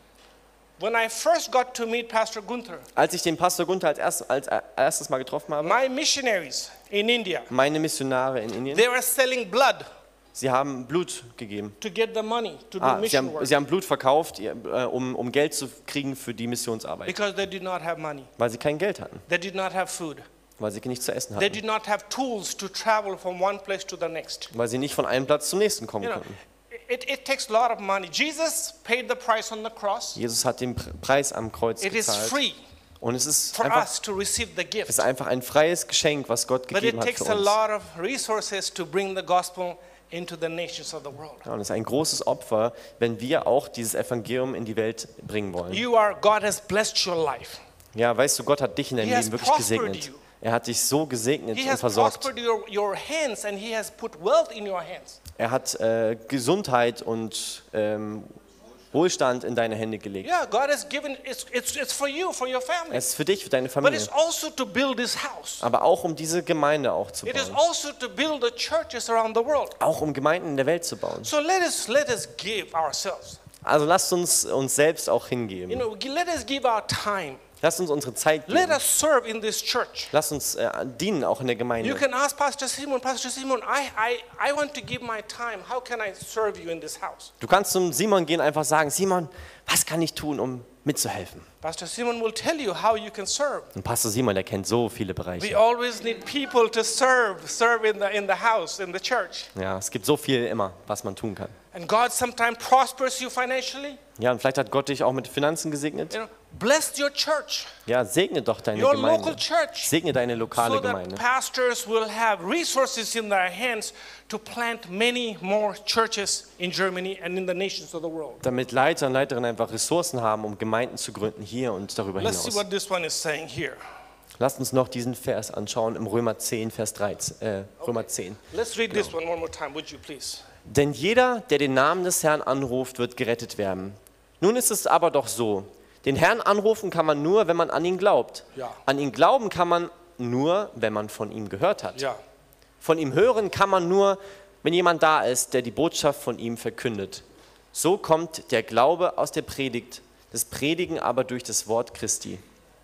[SPEAKER 1] When I first got to meet Pastor Gunther,
[SPEAKER 2] Als ich den Pastor Gunther als, erst, als erstes Mal getroffen habe,
[SPEAKER 1] my missionaries in India,
[SPEAKER 2] meine Missionare in Indien,
[SPEAKER 1] they were selling blood
[SPEAKER 2] sie haben Blut gegeben.
[SPEAKER 1] to get the money to do
[SPEAKER 2] Ah, sie,
[SPEAKER 1] mission
[SPEAKER 2] haben,
[SPEAKER 1] work
[SPEAKER 2] sie haben Blut verkauft, ihr, äh, um, um Geld zu kriegen für die Missionsarbeit,
[SPEAKER 1] because they did not have money.
[SPEAKER 2] weil sie kein Geld hatten,
[SPEAKER 1] They did not have food.
[SPEAKER 2] weil sie nichts zu essen
[SPEAKER 1] They
[SPEAKER 2] hatten,
[SPEAKER 1] did not have tools to travel from one place to the next.
[SPEAKER 2] weil sie nicht von einem Platz zum nächsten kommen
[SPEAKER 1] You know,
[SPEAKER 2] konnten.
[SPEAKER 1] it, it takes a lot of money. Jesus paid the price on the cross.
[SPEAKER 2] Jesus hat den Pr- Preis am Kreuz
[SPEAKER 1] It is
[SPEAKER 2] gezahlt
[SPEAKER 1] free
[SPEAKER 2] und es ist
[SPEAKER 1] for
[SPEAKER 2] einfach,
[SPEAKER 1] us to receive the
[SPEAKER 2] es
[SPEAKER 1] gift.
[SPEAKER 2] ist einfach ein freies Geschenk, was Gott
[SPEAKER 1] But
[SPEAKER 2] gegeben
[SPEAKER 1] it
[SPEAKER 2] hat für
[SPEAKER 1] takes a
[SPEAKER 2] uns.
[SPEAKER 1] lot of resources to bring the gospel into the nations of the world.
[SPEAKER 2] Ja, und es ist ein großes Opfer, wenn wir auch dieses Evangelium in die Welt bringen wollen.
[SPEAKER 1] You are, God has blessed your life.
[SPEAKER 2] Ja, weißt du, Gott hat dich in deinem
[SPEAKER 1] He has
[SPEAKER 2] Leben wirklich
[SPEAKER 1] prospered
[SPEAKER 2] gesegnet.
[SPEAKER 1] you.
[SPEAKER 2] Er hat dich so gesegnet
[SPEAKER 1] He
[SPEAKER 2] und
[SPEAKER 1] has
[SPEAKER 2] versorgt.
[SPEAKER 1] prospered your, your hands and He has put wealth in your hands.
[SPEAKER 2] Er hat äh, Gesundheit und ähm, Wohlstand in deine Hände gelegt.
[SPEAKER 1] Yeah, God has given, it's, it's, it's for you, for your family.
[SPEAKER 2] Es ist für dich, für deine
[SPEAKER 1] But
[SPEAKER 2] Familie.
[SPEAKER 1] it's also to build this house.
[SPEAKER 2] Aber auch um diese Gemeinde auch zu
[SPEAKER 1] It is
[SPEAKER 2] bauen.
[SPEAKER 1] also to build the churches around the world.
[SPEAKER 2] Auch um Gemeinden in der Welt zu bauen.
[SPEAKER 1] So let us, let us give ourselves.
[SPEAKER 2] Also lasst uns uns selbst auch
[SPEAKER 1] You
[SPEAKER 2] hingeben.
[SPEAKER 1] know, let us give our time.
[SPEAKER 2] Lasst uns unsere Zeit
[SPEAKER 1] Let
[SPEAKER 2] geben.
[SPEAKER 1] us serve in this church.
[SPEAKER 2] Lasst uns äh, dienen auch in der
[SPEAKER 1] You
[SPEAKER 2] Gemeinde.
[SPEAKER 1] can ask Pastor Simon, Pastor Simon, I, I, I want to give my time. How can I serve you in this house?
[SPEAKER 2] Du kannst zum Simon gehen und einfach sagen, Simon, was kann ich tun, um mitzuhelfen?
[SPEAKER 1] Pastor Simon will tell you how you can serve.
[SPEAKER 2] Und Pastor Simon, der kennt so viele
[SPEAKER 1] We
[SPEAKER 2] Bereiche.
[SPEAKER 1] always need people to serve, serve in the, in the house, in the church.
[SPEAKER 2] Ja, es gibt so viel immer, was man tun kann.
[SPEAKER 1] And God sometimes prospers you financially.
[SPEAKER 2] Ja, und vielleicht hat Gott dich auch mit Finanzen gesegnet.
[SPEAKER 1] You know, bless your church,
[SPEAKER 2] Ja, segne doch deine
[SPEAKER 1] your local
[SPEAKER 2] Gemeinde.
[SPEAKER 1] church,
[SPEAKER 2] Segne deine lokale
[SPEAKER 1] so that
[SPEAKER 2] Gemeinde.
[SPEAKER 1] pastors will have resources in their hands to plant many more churches in Germany and in the nations of the world.
[SPEAKER 2] Damit Leiter und Leiterinnen einfach Ressourcen haben, um Gemeinden zu gründen hier und darüber
[SPEAKER 1] Let's see
[SPEAKER 2] hinaus.
[SPEAKER 1] what this one is saying here.
[SPEAKER 2] Lasst uns noch diesen Vers anschauen im Römer zehn, Vers dreizehn. Äh, Römer zehn.
[SPEAKER 1] Let's read this one one more time, would you please?
[SPEAKER 2] Denn jeder, der den Namen des Herrn anruft, wird gerettet werden. Nun ist es aber doch so, den Herrn anrufen kann man nur, wenn man an ihn glaubt.
[SPEAKER 1] Ja.
[SPEAKER 2] An ihn glauben kann man nur, wenn man von ihm gehört hat.
[SPEAKER 1] Yeah.
[SPEAKER 2] Von ihm hören kann man nur, wenn jemand da ist, der die Botschaft von ihm verkündet. So kommt der Glaube aus der Predigt, das Predigen aber durch das Wort Christi.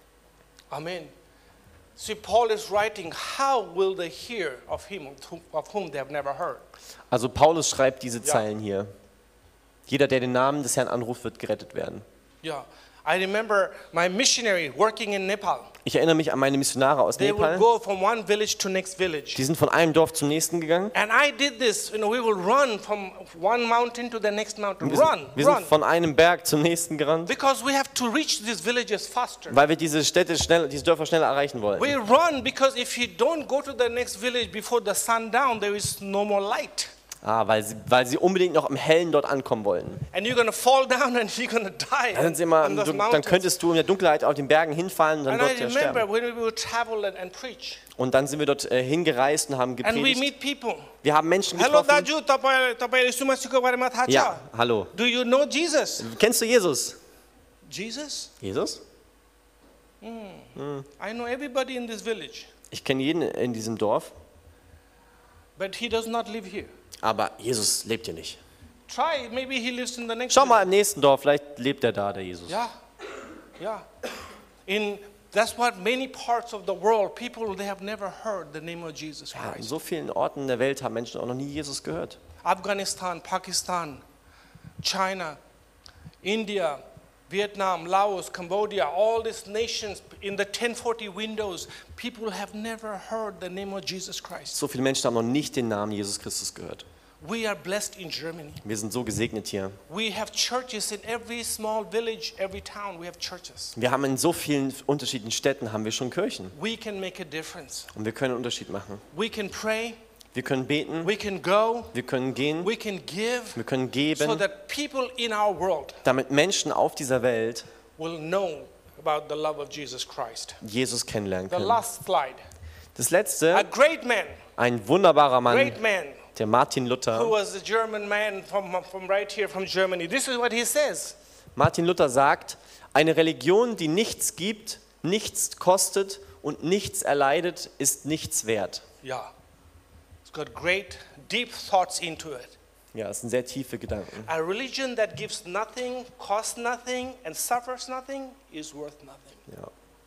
[SPEAKER 1] Amen. See, Paul is writing, how will they hear of him of whom- of whom they have never heard?
[SPEAKER 2] Also Paulus schreibt diese
[SPEAKER 1] Ja.
[SPEAKER 2] Zeilen hier. Jeder, der den Namen des Herrn anruft, wird gerettet werden.
[SPEAKER 1] Yeah. I remember my missionary working in Nepal.
[SPEAKER 2] Ich erinnere mich an meine Missionare aus
[SPEAKER 1] They would
[SPEAKER 2] Nepal.
[SPEAKER 1] go from one village to next village.
[SPEAKER 2] Die sind von einem Dorf zum nächsten gegangen.
[SPEAKER 1] And I did this, you know, we will run from one mountain to the next mountain.
[SPEAKER 2] Wir sind,
[SPEAKER 1] Run,
[SPEAKER 2] wir
[SPEAKER 1] run.
[SPEAKER 2] sind von einem Berg zum nächsten gerannt,
[SPEAKER 1] Because we have to reach these villages faster.
[SPEAKER 2] weil wir diese Städte schnell, diese Dörfer schneller erreichen wollten.
[SPEAKER 1] We run because if you don't go to the next village before the sundown, there is no more light.
[SPEAKER 2] Ah, weil sie, weil sie unbedingt noch im Hellen dort ankommen wollten.
[SPEAKER 1] And you're going to fall down and you're going to die
[SPEAKER 2] Dann, sind sie immer,
[SPEAKER 1] on those
[SPEAKER 2] du, dann
[SPEAKER 1] mountains.
[SPEAKER 2] könntest du in der Dunkelheit auf den Bergen hinfallen und dann
[SPEAKER 1] And I
[SPEAKER 2] dort ja
[SPEAKER 1] remember
[SPEAKER 2] sterben.
[SPEAKER 1] when we would travel and, and preach.
[SPEAKER 2] Und dann sind wir dort äh, hingereist und haben
[SPEAKER 1] And we
[SPEAKER 2] gepredigt.
[SPEAKER 1] meet people.
[SPEAKER 2] Wir haben Menschen
[SPEAKER 1] Hello,
[SPEAKER 2] getroffen.
[SPEAKER 1] Daju, tapai tapai Yesu Masih ko bare ma tha cha?
[SPEAKER 2] Ja, hallo.
[SPEAKER 1] Do you know Jesus?
[SPEAKER 2] Kennst du Jesus?
[SPEAKER 1] Jesus?
[SPEAKER 2] Jesus?
[SPEAKER 1] I know everybody in this village,
[SPEAKER 2] Ich kenne jeden in diesem Dorf,
[SPEAKER 1] but he does not live here.
[SPEAKER 2] aber Jesus lebt hier nicht.
[SPEAKER 1] Try, maybe he lives in the next
[SPEAKER 2] Schau mal
[SPEAKER 1] village.
[SPEAKER 2] im nächsten Dorf, vielleicht lebt er da, der Jesus.
[SPEAKER 1] Yeah, yeah. In that's what many parts of the world, people they have never heard the name of Jesus
[SPEAKER 2] Ja, in
[SPEAKER 1] Christ.
[SPEAKER 2] so vielen Orten der Welt haben Menschen auch noch nie Jesus gehört.
[SPEAKER 1] Afghanistan, Pakistan, China, India, Vietnam, Laos, Cambodia, all these nations in the ten forty windows, people have never heard the name of Jesus Christ.
[SPEAKER 2] So viele Menschen haben noch nicht den Namen Jesus Christus gehört.
[SPEAKER 1] We are blessed in Germany.
[SPEAKER 2] Wir sind so gesegnet hier.
[SPEAKER 1] We have churches in every small village, every town. We have churches.
[SPEAKER 2] Wir haben in so vielen unterschiedlichen Städten haben wir schon Kirchen.
[SPEAKER 1] We can make a difference.
[SPEAKER 2] Und wir können einen Unterschied machen.
[SPEAKER 1] We can pray.
[SPEAKER 2] Wir können beten,
[SPEAKER 1] We can go.
[SPEAKER 2] wir können gehen,
[SPEAKER 1] We can give.
[SPEAKER 2] wir können
[SPEAKER 1] So
[SPEAKER 2] geben,
[SPEAKER 1] that people in our world
[SPEAKER 2] damit Menschen auf dieser Welt
[SPEAKER 1] will know about the love of Jesus Christ.
[SPEAKER 2] Jesus kennenlernen
[SPEAKER 1] The
[SPEAKER 2] können.
[SPEAKER 1] last slide.
[SPEAKER 2] Das
[SPEAKER 1] A
[SPEAKER 2] letzte,
[SPEAKER 1] great man,
[SPEAKER 2] ein wunderbarer Mann,
[SPEAKER 1] great man,
[SPEAKER 2] der Martin
[SPEAKER 1] who
[SPEAKER 2] Luther.
[SPEAKER 1] was a German man from, from right here from Germany. This is what he says.
[SPEAKER 2] Martin Luther sagt, eine Religion, die nichts gibt, nichts kostet und nichts erleidet, ist nichts wert.
[SPEAKER 1] Yeah. It's got great, deep thoughts into it.
[SPEAKER 2] Ja, das sind sehr tiefe Gedanken.
[SPEAKER 1] A religion that gives nothing, costs nothing, and suffers nothing is worth nothing.
[SPEAKER 2] Ja.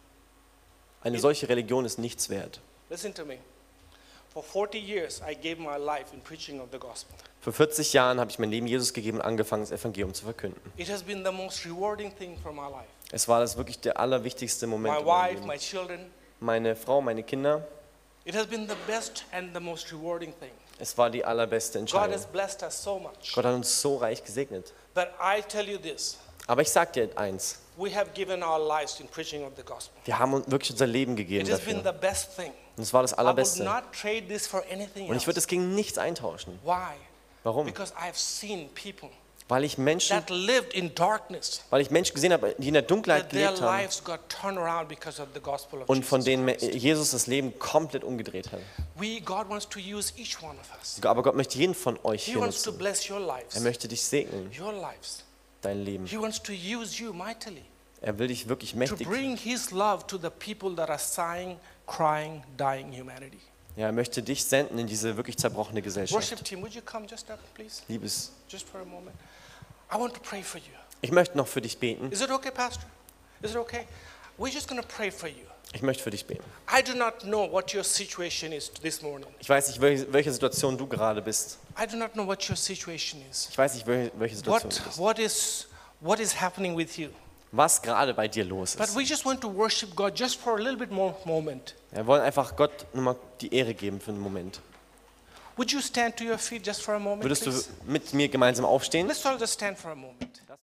[SPEAKER 2] Eine solche Religion ist nichts wert.
[SPEAKER 1] Listen to me. For forty years, I gave my life in preaching of the gospel.
[SPEAKER 2] Vor vierzig Jahren habe ich mein Leben Jesus gegeben und angefangen, das Evangelium zu verkünden.
[SPEAKER 1] It has been the most rewarding thing for my life.
[SPEAKER 2] Es war das wirklich der allerwichtigste Moment
[SPEAKER 1] My
[SPEAKER 2] in meinem
[SPEAKER 1] wife,
[SPEAKER 2] Leben.
[SPEAKER 1] my children.
[SPEAKER 2] Meine Frau, meine Kinder,
[SPEAKER 1] It has been the best and the most rewarding thing.
[SPEAKER 2] es war die allerbeste
[SPEAKER 1] God
[SPEAKER 2] Entscheidung.
[SPEAKER 1] has blessed us so much.
[SPEAKER 2] Gott hat uns so reich gesegnet.
[SPEAKER 1] But I tell you this,
[SPEAKER 2] Aber ich sage dir eins,
[SPEAKER 1] we have given our lives in preaching of the gospel.
[SPEAKER 2] wir haben uns wirklich unser Leben gegeben
[SPEAKER 1] It has been
[SPEAKER 2] dafür.
[SPEAKER 1] the best thing.
[SPEAKER 2] Und es war das
[SPEAKER 1] I would
[SPEAKER 2] Allerbeste.
[SPEAKER 1] not trade this for anything
[SPEAKER 2] Und ich würde
[SPEAKER 1] else.
[SPEAKER 2] es gegen nichts eintauschen.
[SPEAKER 1] Why?
[SPEAKER 2] Warum?
[SPEAKER 1] Because I have seen people
[SPEAKER 2] Weil ich Menschen,
[SPEAKER 1] that lived in darkness,
[SPEAKER 2] weil ich Menschen gesehen habe, die in der Dunkelheit
[SPEAKER 1] that their
[SPEAKER 2] gelebt haben
[SPEAKER 1] lives got turned around because of the gospel of
[SPEAKER 2] und von
[SPEAKER 1] Jesus
[SPEAKER 2] denen
[SPEAKER 1] Christ.
[SPEAKER 2] Jesus das Leben komplett umgedreht hat.
[SPEAKER 1] We, God wants to use each one of us.
[SPEAKER 2] Aber Gott möchte jeden von euch
[SPEAKER 1] He
[SPEAKER 2] hier
[SPEAKER 1] wants to
[SPEAKER 2] nutzen.
[SPEAKER 1] bless your
[SPEAKER 2] Er
[SPEAKER 1] lives,
[SPEAKER 2] möchte dich segnen,
[SPEAKER 1] your lives.
[SPEAKER 2] dein Leben.
[SPEAKER 1] He wants to use you mightily
[SPEAKER 2] Er will dich wirklich
[SPEAKER 1] to
[SPEAKER 2] mächtig.
[SPEAKER 1] bring His love to the people that are sighing, crying, dying humanity.
[SPEAKER 2] Ja, er möchte dich senden in diese wirklich zerbrochene Gesellschaft.
[SPEAKER 1] Worship team, would you come just up, please?
[SPEAKER 2] Liebes,
[SPEAKER 1] Just for a moment. I want to pray for you.
[SPEAKER 2] ich möchte noch für dich beten.
[SPEAKER 1] Is it okay, Pastor? Is it okay? We're just going to pray for you.
[SPEAKER 2] Ich möchte für dich beten.
[SPEAKER 1] I do not know what your situation is this morning.
[SPEAKER 2] Ich weiß nicht, welche, welche Situation du gerade bist.
[SPEAKER 1] I do not know what your situation is.
[SPEAKER 2] Ich weiß nicht, welche, welche Situation
[SPEAKER 1] What,
[SPEAKER 2] du bist.
[SPEAKER 1] what, is, what is happening with you?
[SPEAKER 2] Was gerade bei dir los
[SPEAKER 1] But
[SPEAKER 2] ist.
[SPEAKER 1] we just want to worship God just for a little bit more moment.
[SPEAKER 2] Wir wollen einfach Gott nochmal die Ehre geben für einen Moment.
[SPEAKER 1] Would you stand to your feet just for a moment,
[SPEAKER 2] Würdest du
[SPEAKER 1] please?
[SPEAKER 2] mit mir gemeinsam aufstehen?
[SPEAKER 1] Let's all just stand for a moment.